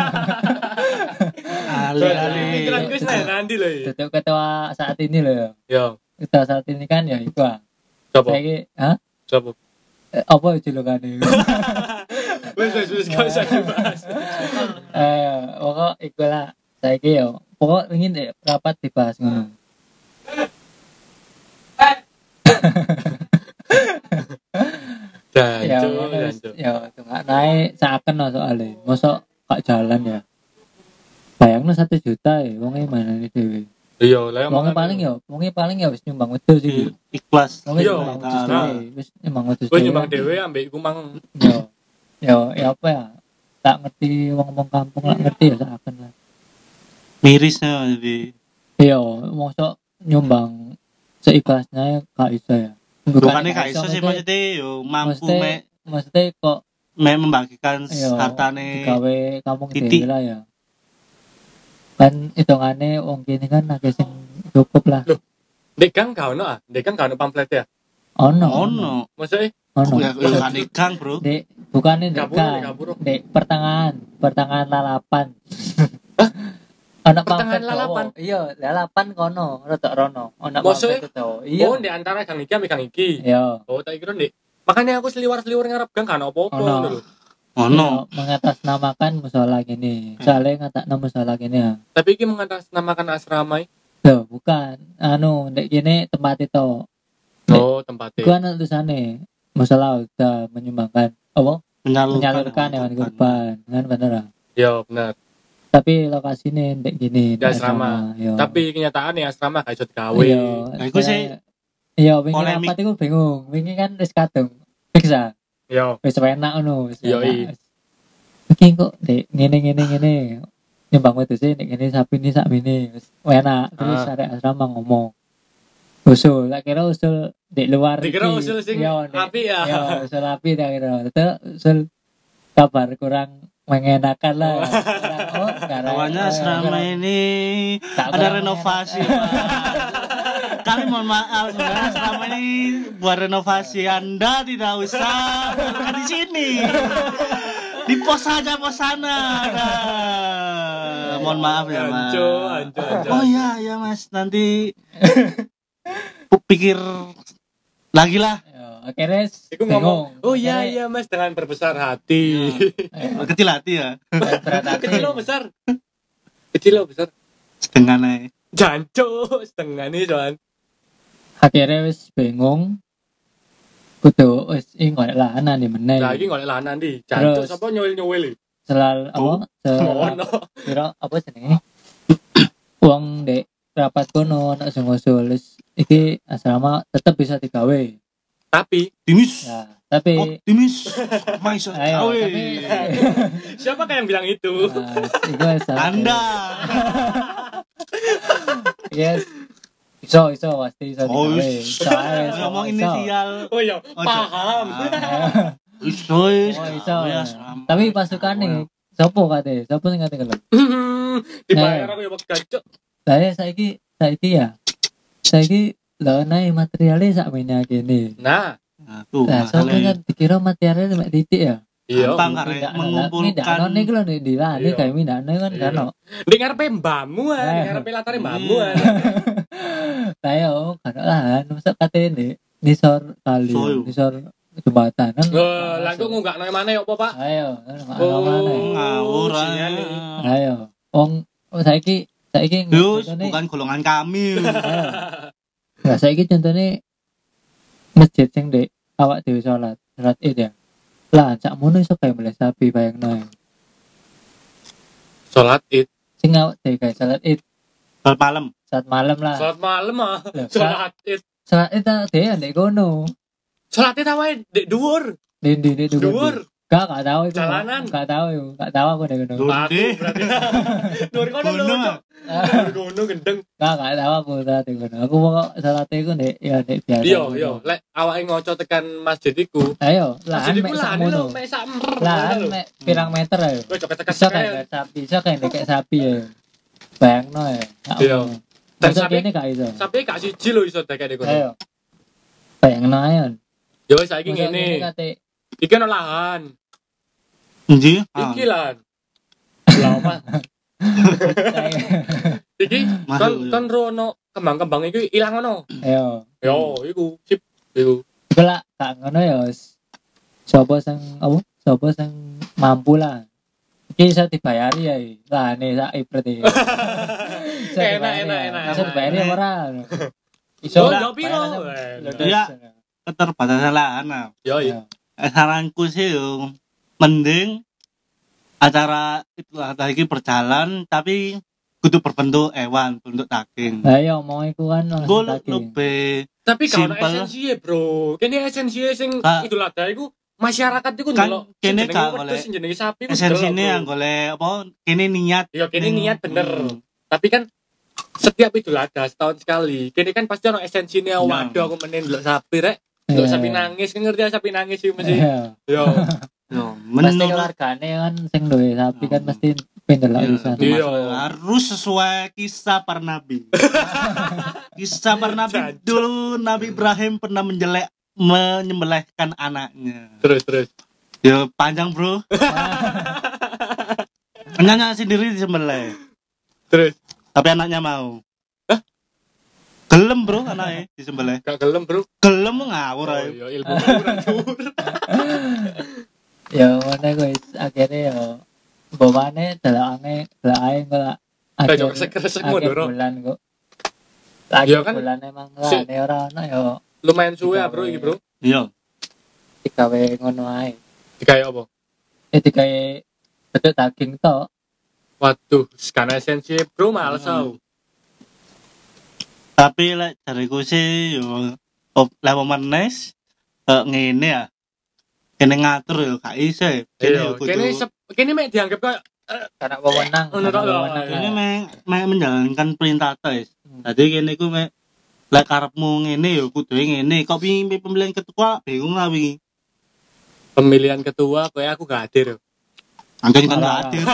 Ali-ali. Pikiranku wis nang nanti lho. Duduk ketua saat ini loh ya. Yo, Ketua saat ini kan ya iku. ah. sapa? Saiki, hah? Sapa? Eh, apa julukannya? Wis wis wis gak usah dibahas. Eh, pokok iku lah. Saiki yo, pokok ingin deh rapat dibahas ngono. Dan Ya, cuk, ngono dan wis- cuk. ya tengah naik seakan no soalnya. Mosok gak jalan ya. Bayangno satu juta ya, wongnya mana nih dewe. Iya, lah yang Wongnya makan- paling ya, wongnya paling ya wis nyumbang wedhus iki. Ikhlas. Wongnya Iya, nyumbang wedhus nah. dhewe, wis nyumbang wedhus Gue dhewe. nyumbang dhewe ambek iku mang Yo, yo, ya apa ya? Tak ngerti wong-wong kampung lah ngerti ya seakan lah. Mirisnya jadi. Iya, mosok nyumbang seikhlasnya gak iso ya. Bukannya gak iso sih maksudnya- maksudnya yo mampu maksudnya- mek maksudnya kok mek membagikan iya, hartane. digawe kampung titik. dhewe lah ya. Kan hitungane wong kene kan akeh sing cukup lah. Loh. Dek gang gak ono ah, dek gang gak ono pamflet ya. Ono. Ono. Maksudnya Ono. Ya ya kan ikan, Bro. Dek, bukannya dek Gapuro, kan. dek gapuro. Dek pertengahan, pertengahan lalapan. Ono Pertengahan pamflet lalapan? Jawa. Iya, lalapan kono, rodok rono. Ono Maksudnya? pamflet Jawa. Iya. oh, di antara gang iki ambek gang iki. Iya. Oh, tak kira Dek. Makanya aku seliwar-seliwar ngarep gang kan apa-apa Ono. ngono lho. Ono. Iya, mengatasnamakan musola gini. Soalnya ngatakno musola gini ya. Tapi iki mengatasnamakan asrama. iki. Loh, bukan. Anu, dek gini tempat itu. Oh, tempatnya. Gua ana tulisane musola udah menyumbangkan apa? Menyalurkan, Menyalurkan hewan kurban. Kan bener ah. Ya, benar. Tapi lokasinya dek gini. Di asrama. Iya. Tapi kenyataannya asrama gak iso digawe. Iya. Nah, iku sih Iya, wingi polemik. rapat iku bingung. Wingi kan wis kadung. Fix ah. Yo, Wis enak ngono, wis Yoi. enak. Iki kok dek ngene ngene ngene. Nyumbang wedhus sih nek ngene sapi ini sak mene. Wis enak. Terus Ah. arek asrama ngomong. Usul, tak kira usul di luar. dikira iki. usul sing Iya, Dek. api ya. Ya, usul api tak kira. Terus usul kabar kurang mengenakan lah. Kurang, oh, karena Awalnya asrama ini Tak ada kurang renovasi, Pak. Kami mohon maaf sebenarnya asrama ini buat renovasi. Anda tidak usah bukan di sini. Di pos saja pos sana. Nah, mohon maaf ya, Mas. Anco, anco, anco. Oh iya, ya Mas. Nanti pikir lagi lah. Ya, akhirnya Iku bingung. ngomong, oh iya Akhirnya, iya mas dengan berbesar hati. eh, Kecil hati ya. berat hati. Kecil lo besar. Kecil lo besar. Setengah naik. Janco setengah nih soal. Akhirnya wis bingung. Kudu wis ing golek lahanan di meneh. Lagi ngoleh lahanan di. Janco Terus. sapa nyuwil nyuwil. Selal apa? Sel Mono. kira apa jenenge? Wong dek rapat kono nek sing ngusul wis iki asrama tetep bisa digawe. Tapi Timis. Ya, tapi Optimis. Mais ayo cawe. tapi siapa yang bilang itu? nah, iku wis salah. Anda. Yes. Iso iso pasti iso Oh, digawe. is- Iso ae, iso, Ngomong iso. inisial. Oh iya, paham. Ah, Iso, is. Oh, iso. Oh, ya, sama. Tapi pasukane sopo kate? Sopo sing kate kelem? Dibayar aku ya waktu janco. Lah saiki saiki ya. Saiki lho nae materialnya sak mene kene. Nah, Nah, tuh Lah sopo masalahnya. kan dikira materialnya mek titik ya. Iya. gampang karek mengumpulkan Mindakno niku lho di lah, Iya. kayak mindakno kan Iya. kan. Di ngarepe mbahmu ah, di Eh. ngarepe latare mbahmu Iya. ah. Lah yo kan lahan masa kate ndek nisor kali, Soyo. nisor jembatan kan. Oh, lah kok ngunggakno mana yo apa, Pak? Ayo, Oh. mana? ngawur sinyal ae. ini. Ayo. Wong oh, saiki saiki Yus, contohnya- bukan golongan kami. Ayo. Lah saiki contohnya masjid sing ndek awak dhewe salat, salat Id ya. Lah cak mono iso kae mulai sapi bayangno. Salat Id. Sing awak dhewe kae salat Id Salat malam. saat malam lah. Salat malam ah. Loh, Salat Id. Salat Id tak dhewe ndek kono. Salat Id awae ndek dhuwur. Di di di Dhuwur. Gak gak tahu itu. Jalanan. Gak tahu itu. Gak tahu aku ndek kono. Dhuwur. Batu Ndi. berarti. Dhuwur kono lho. Gunung, Cok. Ah, Dhuwur kono gendeng. Gak gak tahu aku salat di kono. Aku mau salat iku ndek ya ndek biasa. Iya, iya. Lek awake ngoco tekan masjid iku. Ayo, lah Masjid iku mek lah sakmono. lho, mek sak mer. Lah mek pirang meter ayo. Wis coket tekan Bisa kayak sapi, bisa kayak kayak sapi ya. Bayangno ya. Gak Iya. ngono. Dan Masa sapi- kene gak iso. Sampai gak siji lho iso dekek kono. Ayo. Bayangno ayo. Ya wis saiki Masa ngene. kene kate Iki ono lahan. Nji. Ah. Iki lahan. Lah apa? Iki Masuk, kon iya. kon rono kembang-kembang iki ilang ono. Ayo. Yo, iku sip. Iku. Iku lah gak ngono ya. wis. Sopo sing apa? Sopo sing mampu lah. Iki iso dibayari ya. Lah nih sak ibret iki. Iso Enak, dibayari enak, ya. enak, Iso enak. dibayari ya ora. Oh, lah, yo piro? bayar aja. Eh, Iya. Keterbatasan lahan. Nah. Yo, Iya. iya. Eh, saranku sih yo mending acara itu lagi berjalan tapi kudu berbentuk hewan, bentuk daging. Lah iya mau iku kan Gue langsung daging. lebih Tapi gak ono Simple. esensi ya, Bro. Kene esensi sing Kak. Idul Adha iku masyarakat iku Kan ndelok kene sing jenenge gak wedhus, oleh- sing jenenge sapi ku esensi ini delok, yang Bro. golek apa kini niat. Ya kene Hmm. niat bener. Hmm. Tapi kan setiap Idul Adha setahun sekali. Kene kan pasti ono esensine Ya. waduh aku menen ndelok sapi rek. Ndelok Iya. sapi nangis, kan ngerti ya sapi nangis iki mesti. Iya. Yo. Yo, Pasti menurut keluargane kan sing duwe sapi kan Hmm. pasti pendelok Iya, pisan. Iya. harus sesuai kisah para nabi. Kisah para nabi Jancuk. dulu Nabi Ibrahim pernah menjelek menyembelihkan anaknya. Terus terus. Ya panjang bro. Anaknya sendiri disembelih, Terus tapi anaknya mau. Gelem bro anaknya disembelih. gak gelem, Bro. Gelem ngawur Oh, ae. iya, ilmu kurang dhuwur. Ya ngono guys, akhirnya ya bawane delokane delokane kok Kayak jok resek-resek mondoro. bulan kok. Lagi Ya kan, bulan emang si- lah ora ono ya Lumayan suwe ya, Bro, iki, Bro. Iya. digawe ngono ae. Digawe apa? Eh digawe beduk daging tok. Waduh, sekarang esensi, Bro, males Hmm. aku. Tapi lek jariku sih yo op level menes eh, ngene ya. Kene ngatur yo gak iso. ya. Kene Iya, yo kudu kene sep- kene mek dianggap kayak Karena wewenang. Ngono karena tok lho. wewenang. kene mek mek menjalankan perintah tes. Hmm. Dadi kene ku mek lek karepmu ngene yo kudu ngene. Kok pimpin pemilihan ketua bingung lah wingi. pemilihan ketua kayak aku gak hadir. Anjen kan gak Alah. hadir.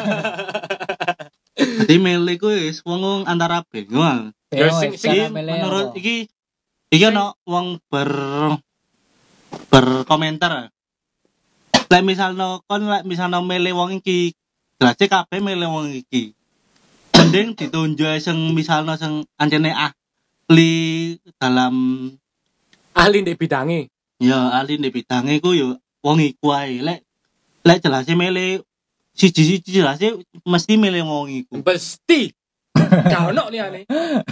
Dadi milih ku wis wong antara bingung. Ya, Ya, sing- wes, sing- cara milih Menurut apa? iki iki ono wong ber berkomentar. Lek misalno kon lek misalno milih wong iki, jelas kabeh milih wong iki. Mending ditunjuk sing misalno sing anjene ahli dalam Ahli ndek bidange. ya ahli di bidang iku yo wong iku ae. Lek lek jelas milih siji-siji jelas mesti milih wong iku. Pasti. Gak ono liyane.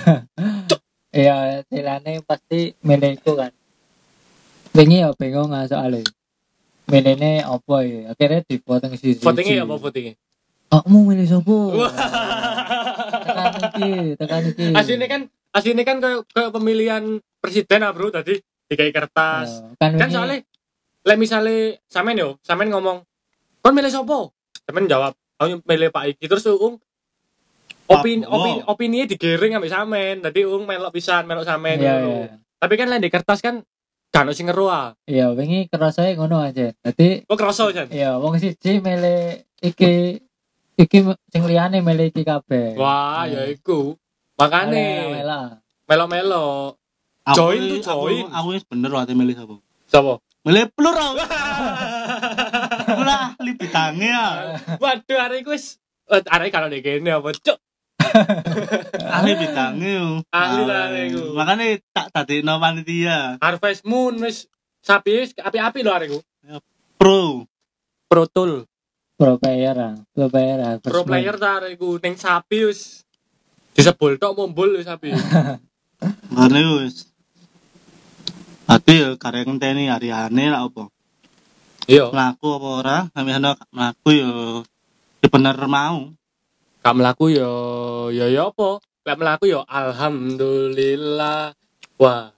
Iya, silane pasti milih iku kan. Wingi ya bingung ah soalnya. Milihne apa ya? Akhirnya di voting siji. Votingnya apa votingnya? Kamu milih sopo? Wah. Tekan iki, tekan iki. Aslinya kan aslinya kan kayak kayak pemilihan presiden ah, Bro, tadi dikai kertas. Ya, kan, Kan wingi- soalnya lek misale sampean yo, sampean ngomong, "Kon milih sopo?" Sampean jawab, "Aku milih Pak Iki." Terus Ung opini Apa? opini opini digiring ambek sampean. Dadi Ung melok pisan, melok sampean Iya, ngono. iya. Tapi kan lek di kertas kan gak ono sing ngeru ah. Iya, wingi kerasa ngono aja. Dadi Kok kroso jan? iya, wong siji milih iki iki sing liyane milih iki kabeh. Wah, ya iku. Makane Mela. melo-melo. Aku- Join tuh, aku- join. Aku wis bener wae milih sapa. Sopo? Milih plural. ahli bidangnya ya. Waduh, arek iku wis eh, arek kalau nek kene apa, Cuk? Ahli bidangnya. Ahli lah arek iku. Makanya tak dadekno panitia. Harvest Moon wis sapi wis api-api lho arek iku. Pro. Pro Tool. pro player ah pro player ah Pro player ta arek iku ning sapi wis disebul tok mumbul wis sapi. Makanya wis. Ati ya karek ngenteni hari-ane lah apa. Iya, Mlaku apa ora? Kami ana mlaku ya ya bener mau. gak mlaku ya ya ya apa? Lek mlaku ya alhamdulillah. Wah,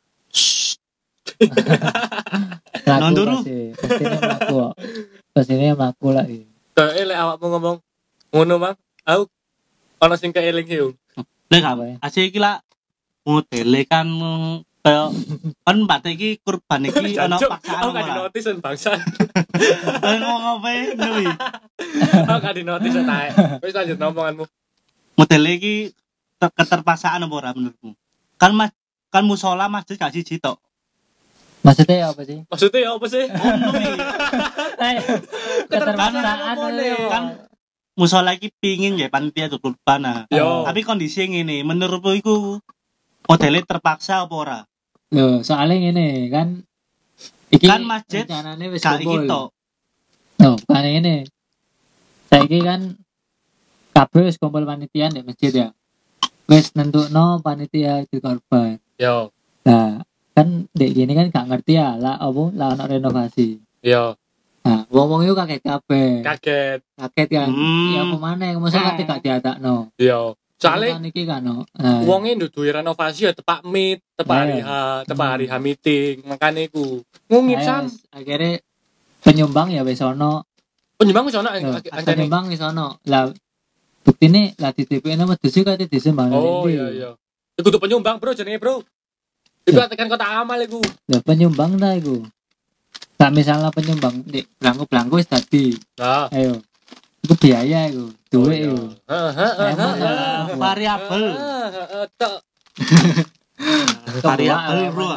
laku Nonduru. pasti pastinya laku kok pastinya laku lah iya. kayak lek awakmu ngomong ngono, Mang. Aku ana sing keeling sih. Lek Apa ya? apa? Asih iki lah modele kan kaya kan mbate iki kurban iki ana Jancuk, paksaan aku gak ora. dinotis sen bangsa. Eh, ngomong apa ya? Nui. Aku gak dinotis tae. Wis lanjut ngomonganmu. Modele iki ter- keterpaksaan apa ora menurutmu? Kan mas kan musola masjid gak siji tok. maksudnya apa sih Maksudnya ya apa sih? Ngono iki. eh keterpaksaan apa itu nih? Kan musola iki pingin ya panitia tuh kurban nah. Yo. Tapi kondisi ngene, menurutmu iku modele terpaksa apa ora? loh soalnya ini kan iki Kan masjid rencananya wis Gak iki kumpul tok. loh bukan ini saiki kan kabeh wis kumpul panitia di masjid ya wis nentukno panitia di korban Yo, nah kan dek gini kan gak ngerti ya lah apa lah ono renovasi yo, nah wong-wong itu kaget kabeh kaget. kaget kan Hmm. ya kemana masa kate gak diadakno Yo. Soalnya kan iki kan no nah, wonge nduduhi renovasi ya tepak meet, tepak hari H, tepak hari H meeting, makane iku. Ngungip ayo sam. wis, akhirnya penyumbang ya wis ono Penyumbang wis ono Loh, ancane. penyumbang wis ono lah buktine lah di T P N medhus kate disumbang Oh iya iya. Iku kudu penyumbang, Bro, jenenge, Bro. Iku tekan kota amal iku. lah penyumbang ta iku tak misalnya penyumbang di belangku-belangku wis dadi Nah, ayo itu biaya itu duit itu Heeh, heeh, Emang heeh. lah. Variabel. Heeh, heeh, tok. Variabel, Bro.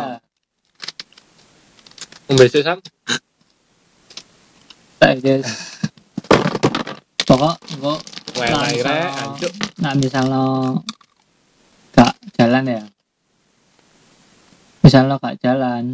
Mbese sam. tak guys pokok engko Wae Nah, rek, misalnya- ancuk. nak misalnya gak jalan ya misalnya gak jalan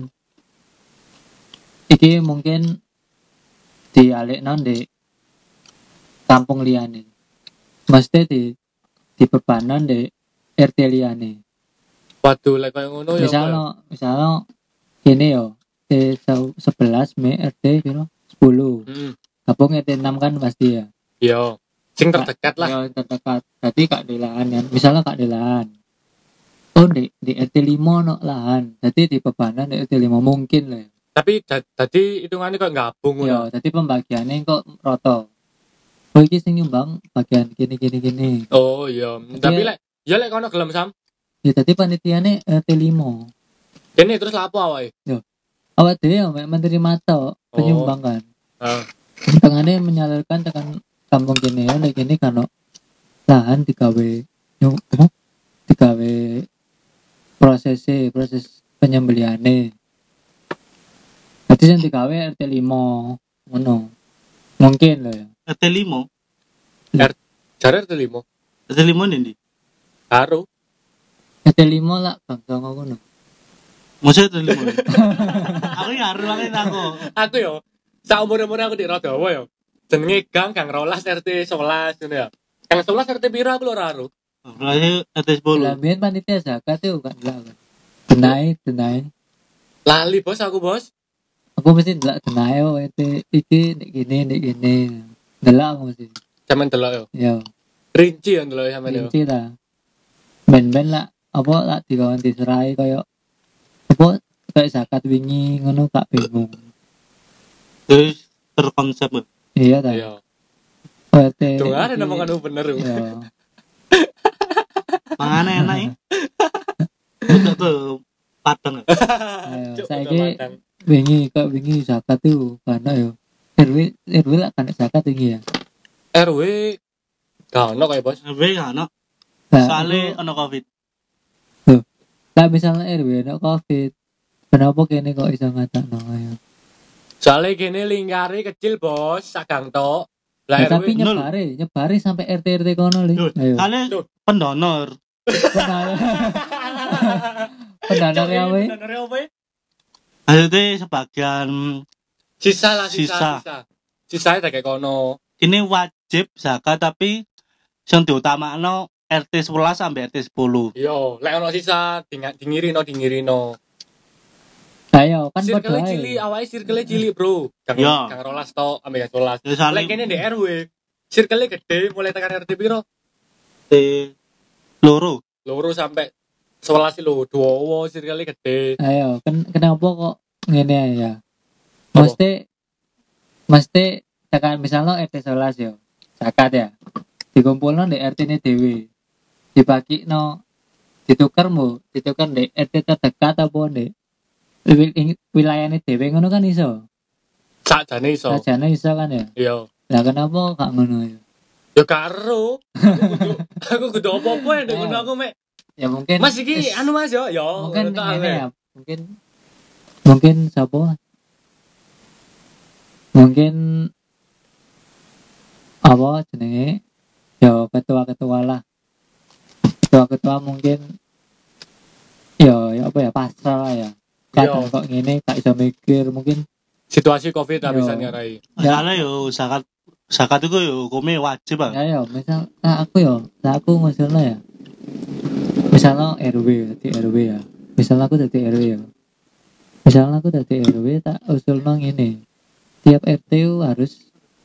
iki mungkin dialihno di kampung liyane mesti di di bebanan di R T liyane Waduh, lek koyo ngono ya. misalnya misalnya gini yo T sebelas Mei R T piro sepuluh Heeh. gabung R T enam kan pasti ya Yo. Sing terdekat lah. ya terdekat berarti kak di lahan ya misalnya kak di lahan oh di di R T lima no lahan jadi di bebanan di R T lima mungkin lah ya. Tapi da- tadi hitungannya kok gabung ya ngono. jadi pembagiannya kok roto oh iki sing nyumbang bagian gini gini gini Oh iya. Tapi lek ya lek kono gelem sam. ya jadi panitiane R T lima Kene terus lapo awake? awak dhewe ya mek menerima tok penyumbang kan Heeh. tengahnya menyalurkan tekan kampung gini ya nek gini kan lahan digawe nyu apa digawe prosesnya proses penyembeliane jadi yang digawe R T lima ngono mungkin loh ya R T lima. Jare R T lima. R T lima ndi? Karo. R T lima lah bangsa ngono Mosok R T lima. Aku ya harus banget aku. Aku yo sak umur-umur aku di Rodowo yo. Jenenge Gang Gang Rolas R T sebelas ngono ya. Gang sebelas R T piro aku lho ora ero. Berarti R T sepuluh. lah biyen panitia zakat itu kan lah denai denai Lali bos aku bos. aku mesti ndelok denai oh itu iki nek gini nek gini ndelok aku mesti Sampeyan delok yo. ya Rinci yo delok sampeyan yo. rinci lah ben-ben lah apa lah dikawan diserai kaya apa kayak zakat wingi ngono gak bingung Terus terkonsep. ya. iya ta Iya. O R T Tuh ada iki- nama kan bener. yo. iya Mangane enak ya. Udah tuh padang. ayo Cuk, saiki udah matang. wingi kok wingi zakat tuh karena yo R W R W lah kan zakat wingi ya R W gak ono kayak bos. Lebih kan no. Nah, Soale itu- ono Covid. lah misalnya R W no covid kenapa kene kok iso ngatakno ayo Soalnya gini lingkari kecil bos, sagang tok. Lah Ya, R W tapi nol. nyebare, nyebare sampai R T R T kono li. Loh, Ayo. kali Tuh. pendonor. Pendonor. Pendonor ya we. Pendonor apa ya? Maksudnya sebagian Sisa lah sisa Sisa. sisa. Sisanya tak kayak kono. ini wajib zakat tapi yang diutamakno R T sebelas sampai R T sepuluh. Yo, lek ono sisa dinga- dingirino dingirino. Ayo kan padha Circle ae. cilik, awake circle cilik, Bro. Kang Yo. kang rolas tok ambek rolas. Ya saling Lek kene di R W, circle gede mulai tekan R T piro? R T loro. Loro sampai sebelas lho, dua circle gede. Ayo, kan kenapa kok ngene ae ya? Apa? Mesti mesti tekan misalnya R T sebelas yo. Zakat ya. Dikumpulno di R T-ne dhewe. Dibagino ditukar mu, ditukar di R T terdekat apa di wilayahnya dhewe ngono kan iso. Sakjane iso. Sajane iso kan ya. Yo. Lah kenapa gak ngono ya? Yo karo. Aku kudu aku kudu apa-apa ya ngono aku mek. Ya mungkin Mas iki is- anu Mas yo, yo. mungkin ngono tok ini aku. ya, mungkin mungkin siapa? Mungkin apa jenenge? Ya ketua-ketua lah. Ketua-ketua mungkin ya, ya apa ya pasrah lah ya. Kadang Yo. kok ngene gak iso mikir mungkin Situasi Covid Yo. habisan ngarai. Masalah yo zakat zakat itu yo hukumnya wajib ah. ya ya misal nah aku ya, nah aku ngusulnya ya. Misalnya R W di R W ya. Misalnya aku dari R W ya. Misalnya aku dari R W tak usulno ngene. Tiap R T U harus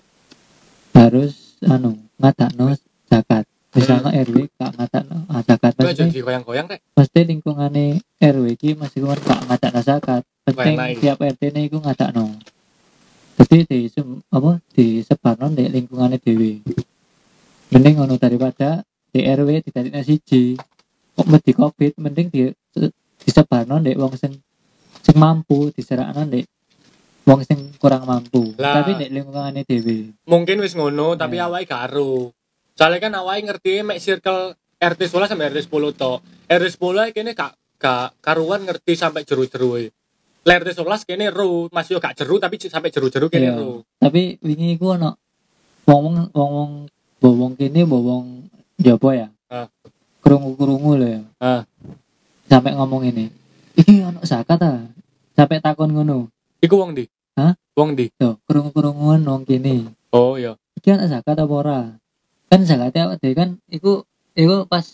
harus anu ngadakno zakat. Misalnya R W gak ngadakno ah, zakat Kok aja mesti digoyang-goyang rek. mesti lingkungane R W iki mesti kan gak ngadakno zakat. Penting Wah, naik. tiap R T-ne iku ngadakno. Jadi di sem- apa disebarno di lingkungane dhewe. Mending ngono daripada di R W didadekne siji. Kok mesti Covid mending di disebarno ndek wong sing sing mampu diserakno ndek wong sing kurang mampu. Lah. Tapi ndek lingkungane dhewe. Mungkin wis ngono tapi Ya. awake gak ero. Soalnya kan awake ngerti mek circle R T sebelas sampai R T sepuluh tok. R T sepuluh ae kene gak gak karuan ngerti sampai jeru-jeru e. Lek R T sebelas kene ero, masih yo gak jeru tapi c- sampai jeru-jeru kene Iya. ero. Tapi wingi iku ono wong-wong wong-wong bowong kene bowong jopo ya. Ah. Krungu-krungu lho ya. Ah. Sampai ngomong ini. Iki ono zakat ta? Sampai takon ngono. Iku wong ndi? Hah? Wong ndi? Tuh, krungu-krunguan wong kene. Oh iya. Iki ono zakat apa ora? Kan zakatnya awake dhewe kan iku iku pas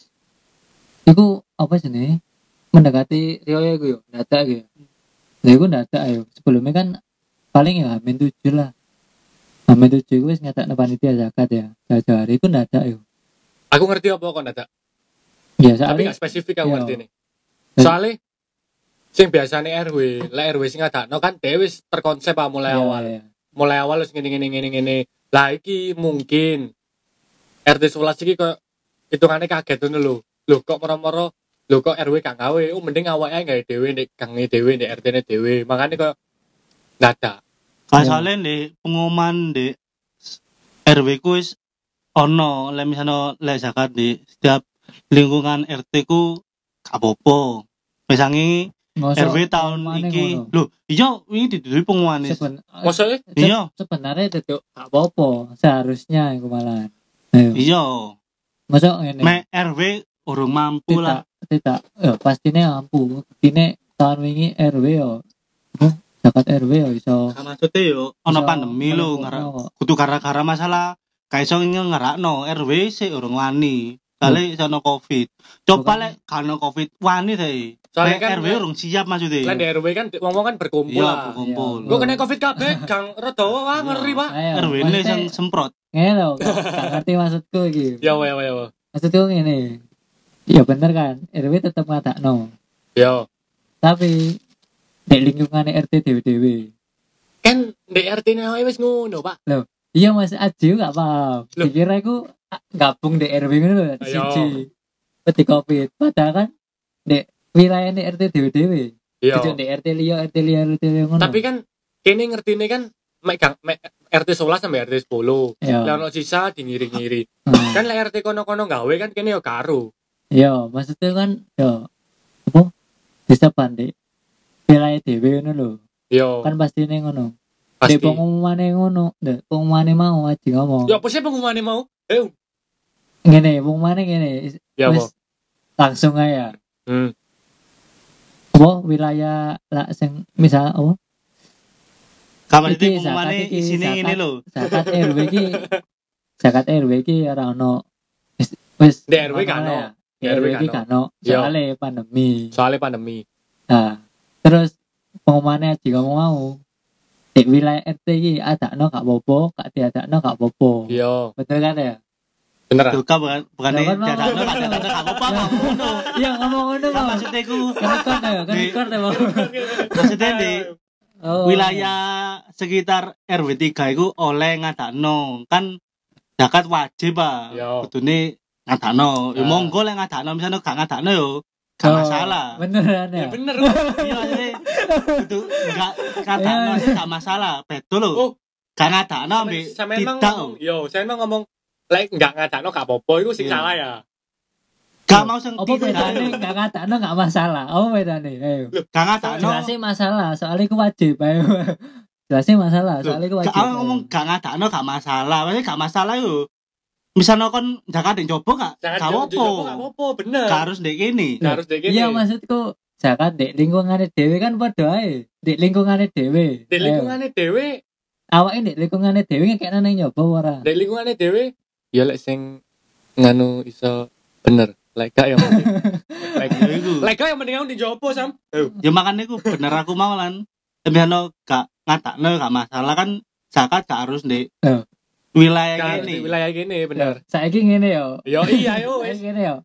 iku apa jenenge? Mendekati riyo iku yo, dadak iku. Lha iku dadak ayo. Sebelumnya kan paling ya Hamin tujuh lah. Hamin tujuh iku wis ngetakno panitia zakat ya. Jajare iku dadak yo. Aku ngerti apa kok dadak. Ya Tapi soalnya gak spesifik aku Iya. ngerti nih. Soalnya sing biasane R W, lek R W sing ngadakno kan dhewe wis terkonsep ah mulai Iya, awal. iya. Mulai awal wis ngene ngene ngene ngene. Lah iki mungkin R T sebelas iki kok hitungane kaget ngono lho. Lho kok moro-moro lho kok R W gak gawe. Oh mending awake ae gawe dhewe nek gange dhewe nek R T-ne dhewe. Makane kok dadak. Masalahnya di pengumuman di R W ku wis ono lek misalnya lek zakat di setiap lingkungan R T ku gak apa-apa. Misalnya Mosok R W tahun pengumumannya iki ngono. lho iya ini dituduhi pengumuman is. Seben- Maksudnya se- Iya. sebenarnya itu gak apa-apa seharusnya iku malah. Ayo. Iya Mosok ngene. me R W urung mampu tidak lah. tidak ya pastinya mampu ini tahun wingi R W yo apa zakat R W yo iso Nah, maksudnya yo ono iso pandemi lho melebokno ngarak kok. kudu gara-gara masalah gak iso ngerakno R W sik urung wani. Kali iso ono Covid. Coba Bukan. lek gak ono Covid wani ta. Soalnya Lek kan R W urung siap maksudnya. lek di R W kan wong-wong kan berkumpul Iya, lah. berkumpul. Gue kena Covid kabeh, Kang rada wah ngeri, Pak. Ayo, R W ini maksudnya, sing semprot. ngene lho gak gak ngerti maksudku iki Ya wae wae wae. maksudku ngene ya bener kan R W tetep ngadakno Ya. tapi di lingkungan R T dewe-dewe Kan di R T-ne awake wis ngono, Pak. iya Mas Aji gak paham Loh. dikira iku ah, gabung di R W ngono lho Ayo. siji peti Covid padahal kan di wilayah R T dewe-dewe Iya. Tidak di R T liya, R T liya, R T liya ngono. Tapi kan kene ngertine kan mek gang mek R T sebelas sampai R T sepuluh. ya. Lah ono sisa di ngiri-ngiri. Hmm. Kan lek R T kono-kono gawe kan kene yo karo. Ya, maksudnya kan ya apa? Bisa pandai wilayah dhewe ngono lho. Yo. Kan pastine ngono. Pasti. Dek pengumumane ngono, dek pengumumane mau aja ngomong. Ya apa sih pengumumannya mau? Eh, Ngene, pengumumane ngene. ya apa? Wis langsung aja. Hmm. Apa wilayah lah sing misal apa? Kamar Iki, itu pengumumannya zakat iki, isine zakat. ngene lho. Zakat R W iki zakat R W iki ora ono. Wis wis Di R W kan ono ono. ya. Di Di R R W W iki kan kan ono. Yo. Soale pandemi. Soalnya pandemi. Nah, terus pengumumannya aja ngomong mau. Di wilayah R T iki adakno gak apa-apa, gak diadakno gak apa-apa. Iya, Betul kan ya? bener. Tuh kan bukan bukannya Lah, kan mau. jadano gak jadano gak apa-apa kok ngono. Iya ngomong ngono Kan Bang. maksudnya ku Kan record ya, kan Di- record ya Bang. maksudnya di Oh. wilayah sekitar R W tiga itu oleh ngadakno kan zakat wajib Pak. Yo. Kudune ngadakno. Ya Ah. monggo lek ngadakno misalnya gak ngadakno yo gak Oh, masalah. Beneran Ya ya. bener. Iya maksudnya kudu gak ngadakno Iya. gak masalah. Betul lho. Oh, Gak ngadakno ambek saya memang tidak. ngomong, yo, saya memang ngomong lek enggak ngadakno gak apa-apa iku sing Iya. salah ya. Gak mau sing Apa tidak. bedane gak ngatakno gak masalah? Apa bedane? Ayo. Gak ngadakno. Jelasnya masalah, soalnya itu wajib. Ayo. Jelasnya masalah, soalnya itu wajib. Gak ngomong gak ngadakno gak masalah. Maksudnya gak masalah yo. Misalnya kon zakat yang coba gak? Jangan Gak jauh apa-apa. gak apa-apa, bener. Gak harus ndek kene. Gak harus dek Iya maksudku zakat dek lingkungannya dewe kan padha ae. Dek lingkungannya dewe. Di Ayo. lingkungannya dhewe, Awake dek lingkungannya dewe ngekekno nang nyoba ora. di lingkungannya dhewe ya lek sing nganu iso bener. Lek gak yang penting. Lek Ya iku. lek gak yang penting aku dijopo sam. Eh, Ya makanya iku bener aku mau lan. Misalnya gak ngadakno gak masalah kan zakat gak harus ndek Oh. wilayah gak di kene. wilayah gini bener. Saiki ngene yo. Yo iya yo wes. Saiki ngene yo.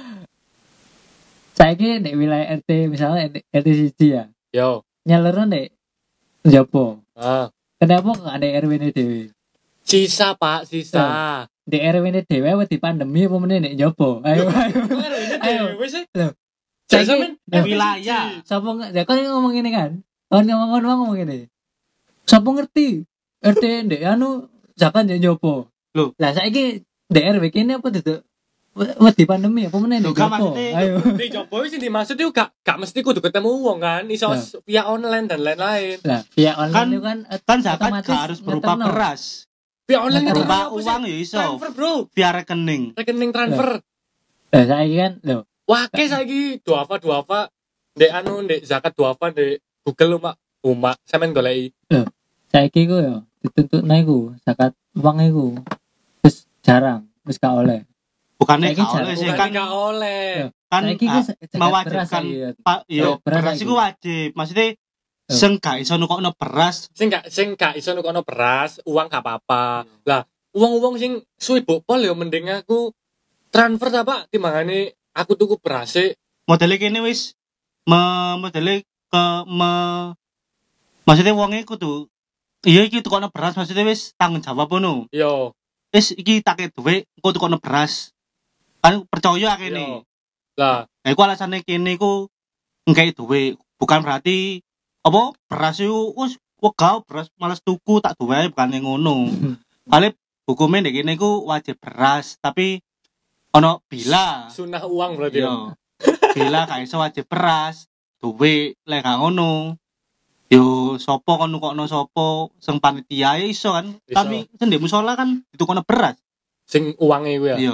Saiki dek wilayah R T misalnya R T siji ya. Yo. Nyalurno dek njopo. Ah. Kenapa gak ada R W ne dewe? Sisa Pak, sisa. Di R W ne dewe wedi pandemi apa meneh nek njopo? Ayo ayo. Ayo. Wes. Loh. Jadi Saiki- sampean Loh. Wilayah. Sapa nggak? Ya kan ngomong ini kan. Kan ngomong ngomong ngomong ini. Sapa ngerti? R T ndek anu zakat ndek njopo. Loh. Lah saiki D R W kene apa duduk wedi pandemi apa meneh Loh, ndek kan njopo? maksudnya- Ayo. Di Jopo sih dimaksud itu gak gak mesti kudu ketemu wong kan, iso Nah. via online dan lain-lain. Lah, via online Kan- itu kan Kan zakat otomatis gak harus berupa ngeterno. beras. Via online Berupa itu Berupa apa sih? uang ya iso. Transfer bro, Via rekening. rekening transfer. Lah saiki kan lho. Wah, ke saiki duafa duafa ndek anu ndek zakat duafa ndek Google umak umak sampean goleki. Saiki ku yo dituntutno iku zakat uang iku. Terus jarang wis gak oleh. Bukannya Saiki gak oleh sih Bukan kan gak oleh. kan Saiki ku ah, zakat mewajibkan beras ya. Pak yo Eh, beras beras lagi. iku wajib. Maksudnya Oh. sing gak iso nukokno beras Sing gak sing gak iso nukono beras, uang gak apa-apa. Lah, uang-uang sing suwi bopol ya mending aku transfer ta Pak timbangane aku tuku beras e. modelnya kene wis me modelnya ke me maksudnya wonge kudu iya iki tukokno beras maksudnya wis tanggung jawab ngono. Yo, Wis iki tak duwe engko tukokno beras. Kan percaya yo. kene. Lah, Nah, iku alasane kene iku ngkei duwe, bukan berarti apa beras iku wis wegah beras males tuku tak duwe ae, bukan yang ngono. Kali hukumnya ndek kene iku wajib beras, tapi ono bila. sunah uang berarti. Yo. Bila gak iso wajib beras, duwe lek gak ngono. Yo sapa kon nukokno sapa sing panitia ya iso kan. Iso. Kami sing ndek musala kan ditukokno beras. Sing uangnya gue ya. Iya.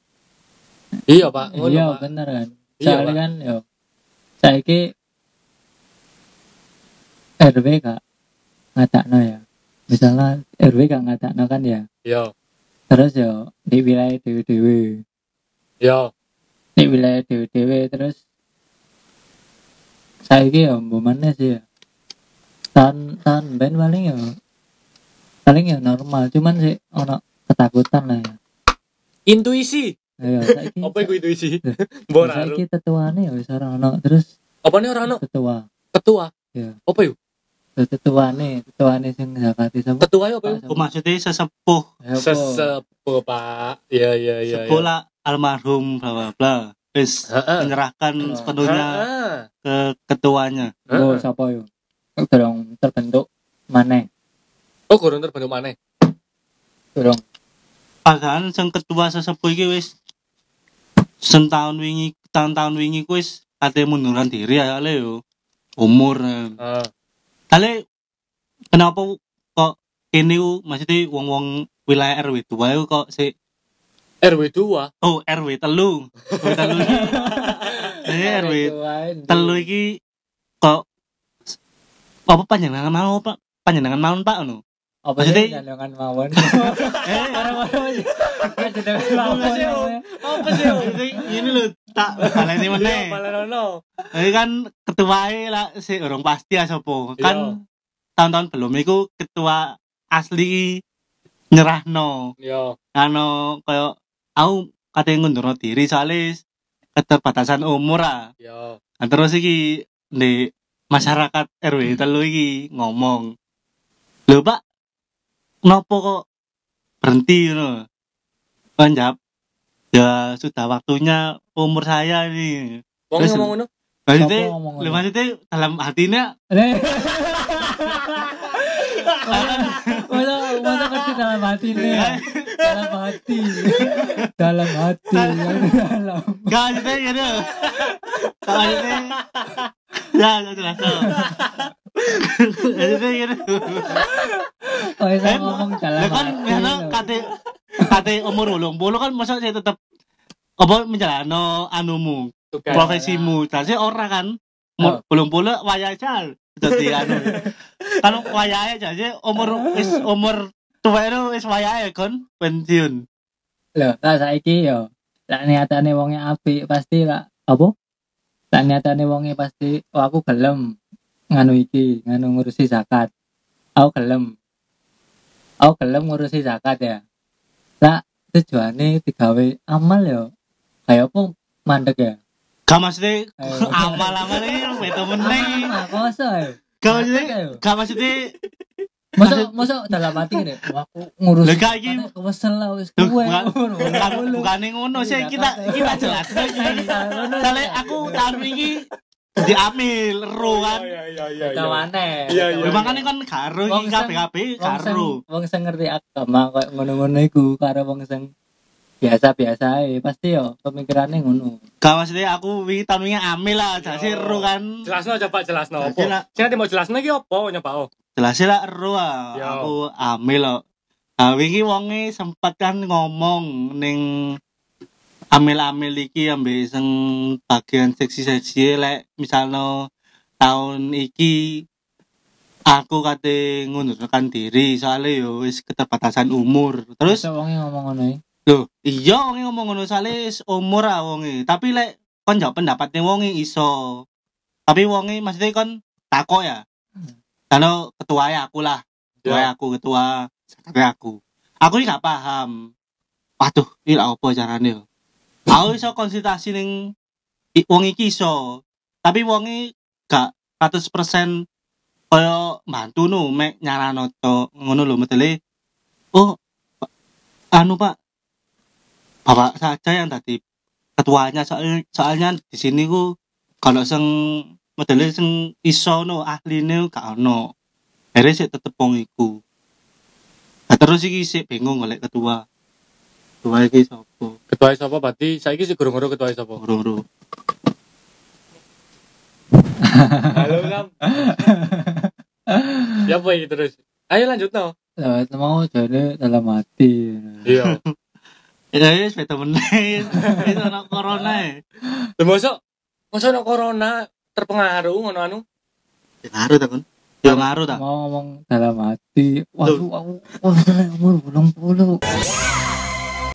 Iya Pak, ngono Iya Pak. bener kan. Iya, Soalnya Pak. kan yo saiki R W gak ngatakno ya. Misalnya R W gak ngatakno kan ya. Yo, Terus yo di wilayah dewe-dewe, yo. di wilayah dewe-dewe terus saiki yo mbomane sih ya. Tahun tahun ben paling yo paling ya normal, cuman sih ono ketakutan lah ya. Intuisi. Ayo saiki. Apa iku intuisi? Sa- Mbok ora. Saiki tetuane ya wis ora ono terus Apa nih orang ono tetua. ketua? Iya. Apa yuk? Tetuane, tetuane sing zakati sapa? Ketua ya apa yuk? Ku maksudnya sesepuh, Ya apa? Sesepuh Pak. Iya iya iya. sepuh lah almarhum bla bla bla. Wis Heeh. menyerahkan sepenuhnya Heeh. ke ketuanya. Oh, Heeh. sapa yo? Durung terbentuk maneh. Oh, kurang terbentuk mana? Durung. Padahal sing ketua sesepuh iki wis setahun wingi, tahun-tahun wingi ku wis ate munduran diri ya le yo. Umur. eh. Heeh. Ale kenapa kene ku maksudnya wong-wong wilayah R W dua iku kok sik R W dua. oh R W telu. R W telu. Jadi R W telu iki kok apa panjenengan mau Pak? Panjenengan mau Pak ngono. Apa sih jangan mawon. Eh, Orang-orang jangan mawon. Apa sih? ini lho tak baleni meneh. Balenono. Jadi kan ketuae lah si orang pasti ya sapa. Kan tahun-tahun belum iku ketua asli nyerahno. Yo. Anu koyo aku kate ngundurno diri soalnya keterbatasan umur ah. Yo. Nah, terus iki di masyarakat R W telu iki ngomong. Lho Pak, kenapa kok berhenti ngono? Kan jawab, ya sudah waktunya umur saya ini. Wong Terus- ngomong ngono. Maksudnya, Siapa ngomong lho ngono? maksudnya dalam hatinya Masa masa ngerti dalam hati nih ya? Dalam hati dalam hati dalam gak maksudnya gitu. Gak maksudnya ya gak jelas tau. Maksudnya gitu. oh saya ngomong dalam Lah kan hati ngono loh. kate kate umur wolong puluh kan masa saya tetep apa menjalano anumu Tugas. profesimu. Jadi ora kan umur bolong puluh wayahe aja dadi anu. Kan wayahe jadi umur wis umur tuwa itu wis wayahe kon pensiun. Loh, lah saiki yo lak niatane wonge apik pasti lak apa? Lak niatane wonge pasti oh aku gelem nganu iki, nganu ngurusi zakat. Aku gelem. Aku gelem ngurusi zakat ya. Lah tujuane digawe amal yo. Kayak apa mandek ya? Gak maksudnya Ayo. amal-amal ini beto meneng. Ah, kosa yo. Gak maksudnya gak maksudnya Masa masa dalam hati ini, wah aku ngurus. Lah, gak iki. Kesel lah wis Duh, kuwe. bukan bukan bukan ngono sih kita kita jelas lagi. Soalnya aku tahun ini diambil ro kan. Iya iya iya. Kawane. Iya, iya. Lha makane kan karo Wong iki sing- K B K B Wong sing karo. wong sing ngerti agama koyo ngono-ngono iku karo wong sing biasa-biasa ae pasti yo pemikirannya ngono. Gak maksudnya aku wingi tahun wingi amil lah, jadi ro kan. Jelasno coba jelasno Jadi lah- apa? Sing ati mau jelasno iki apa nyoba oh. Jelasnya lah ro ah. Yo. Aku amil loh. Nah, wingi wonge sempat kan ngomong ning amil-amil iki ambil sing bagian seksi-seksi lek misalnya tahun iki aku kate ngundurkan diri soalnya yo wis keterbatasan umur. Terus Masa wonge ngomong ngono iki. lho, iya wonge ngomong ngono soalnya wis umur ah wonge. Tapi lek kon jawab pendapatnya wonge iso. Tapi wonge maksudnya kon takok ya. Karena ketua aku lah. Ketua Ya. aku ketua sekretari aku. Aku ini gak paham. Waduh, ini lah apa caranya yo. Aku iso konsultasi ning i- wong iki iso. Tapi wonge gak seratus persen kaya bantu no mek nyarano to ngono lho medele. Oh, Pak- anu Pak. Bapak saja yang tadi ketuanya soal, soalnya di sini ku kalau sing modele sing iso no ahline gak ono. Akhirnya sih tetep wong iku. Nah, terus iki sih bingung golek ketua. Ketua iki sapa? Ketua sapa berarti saiki sih guru-guru ketua sapa? Guru-guru. Halo Lam. Ya apa iki terus? Ayo lanjut no. Lah mau jane dalam hati. Iya. Ya wis beda meneh. Wis ana corona e. Lha mosok mosok ono corona terpengaruh ngono anu. Ya ngaruh ta kon? Ya ngaruh ta. Mau ngomong dalam hati. Waduh aku wah umur belum puluh.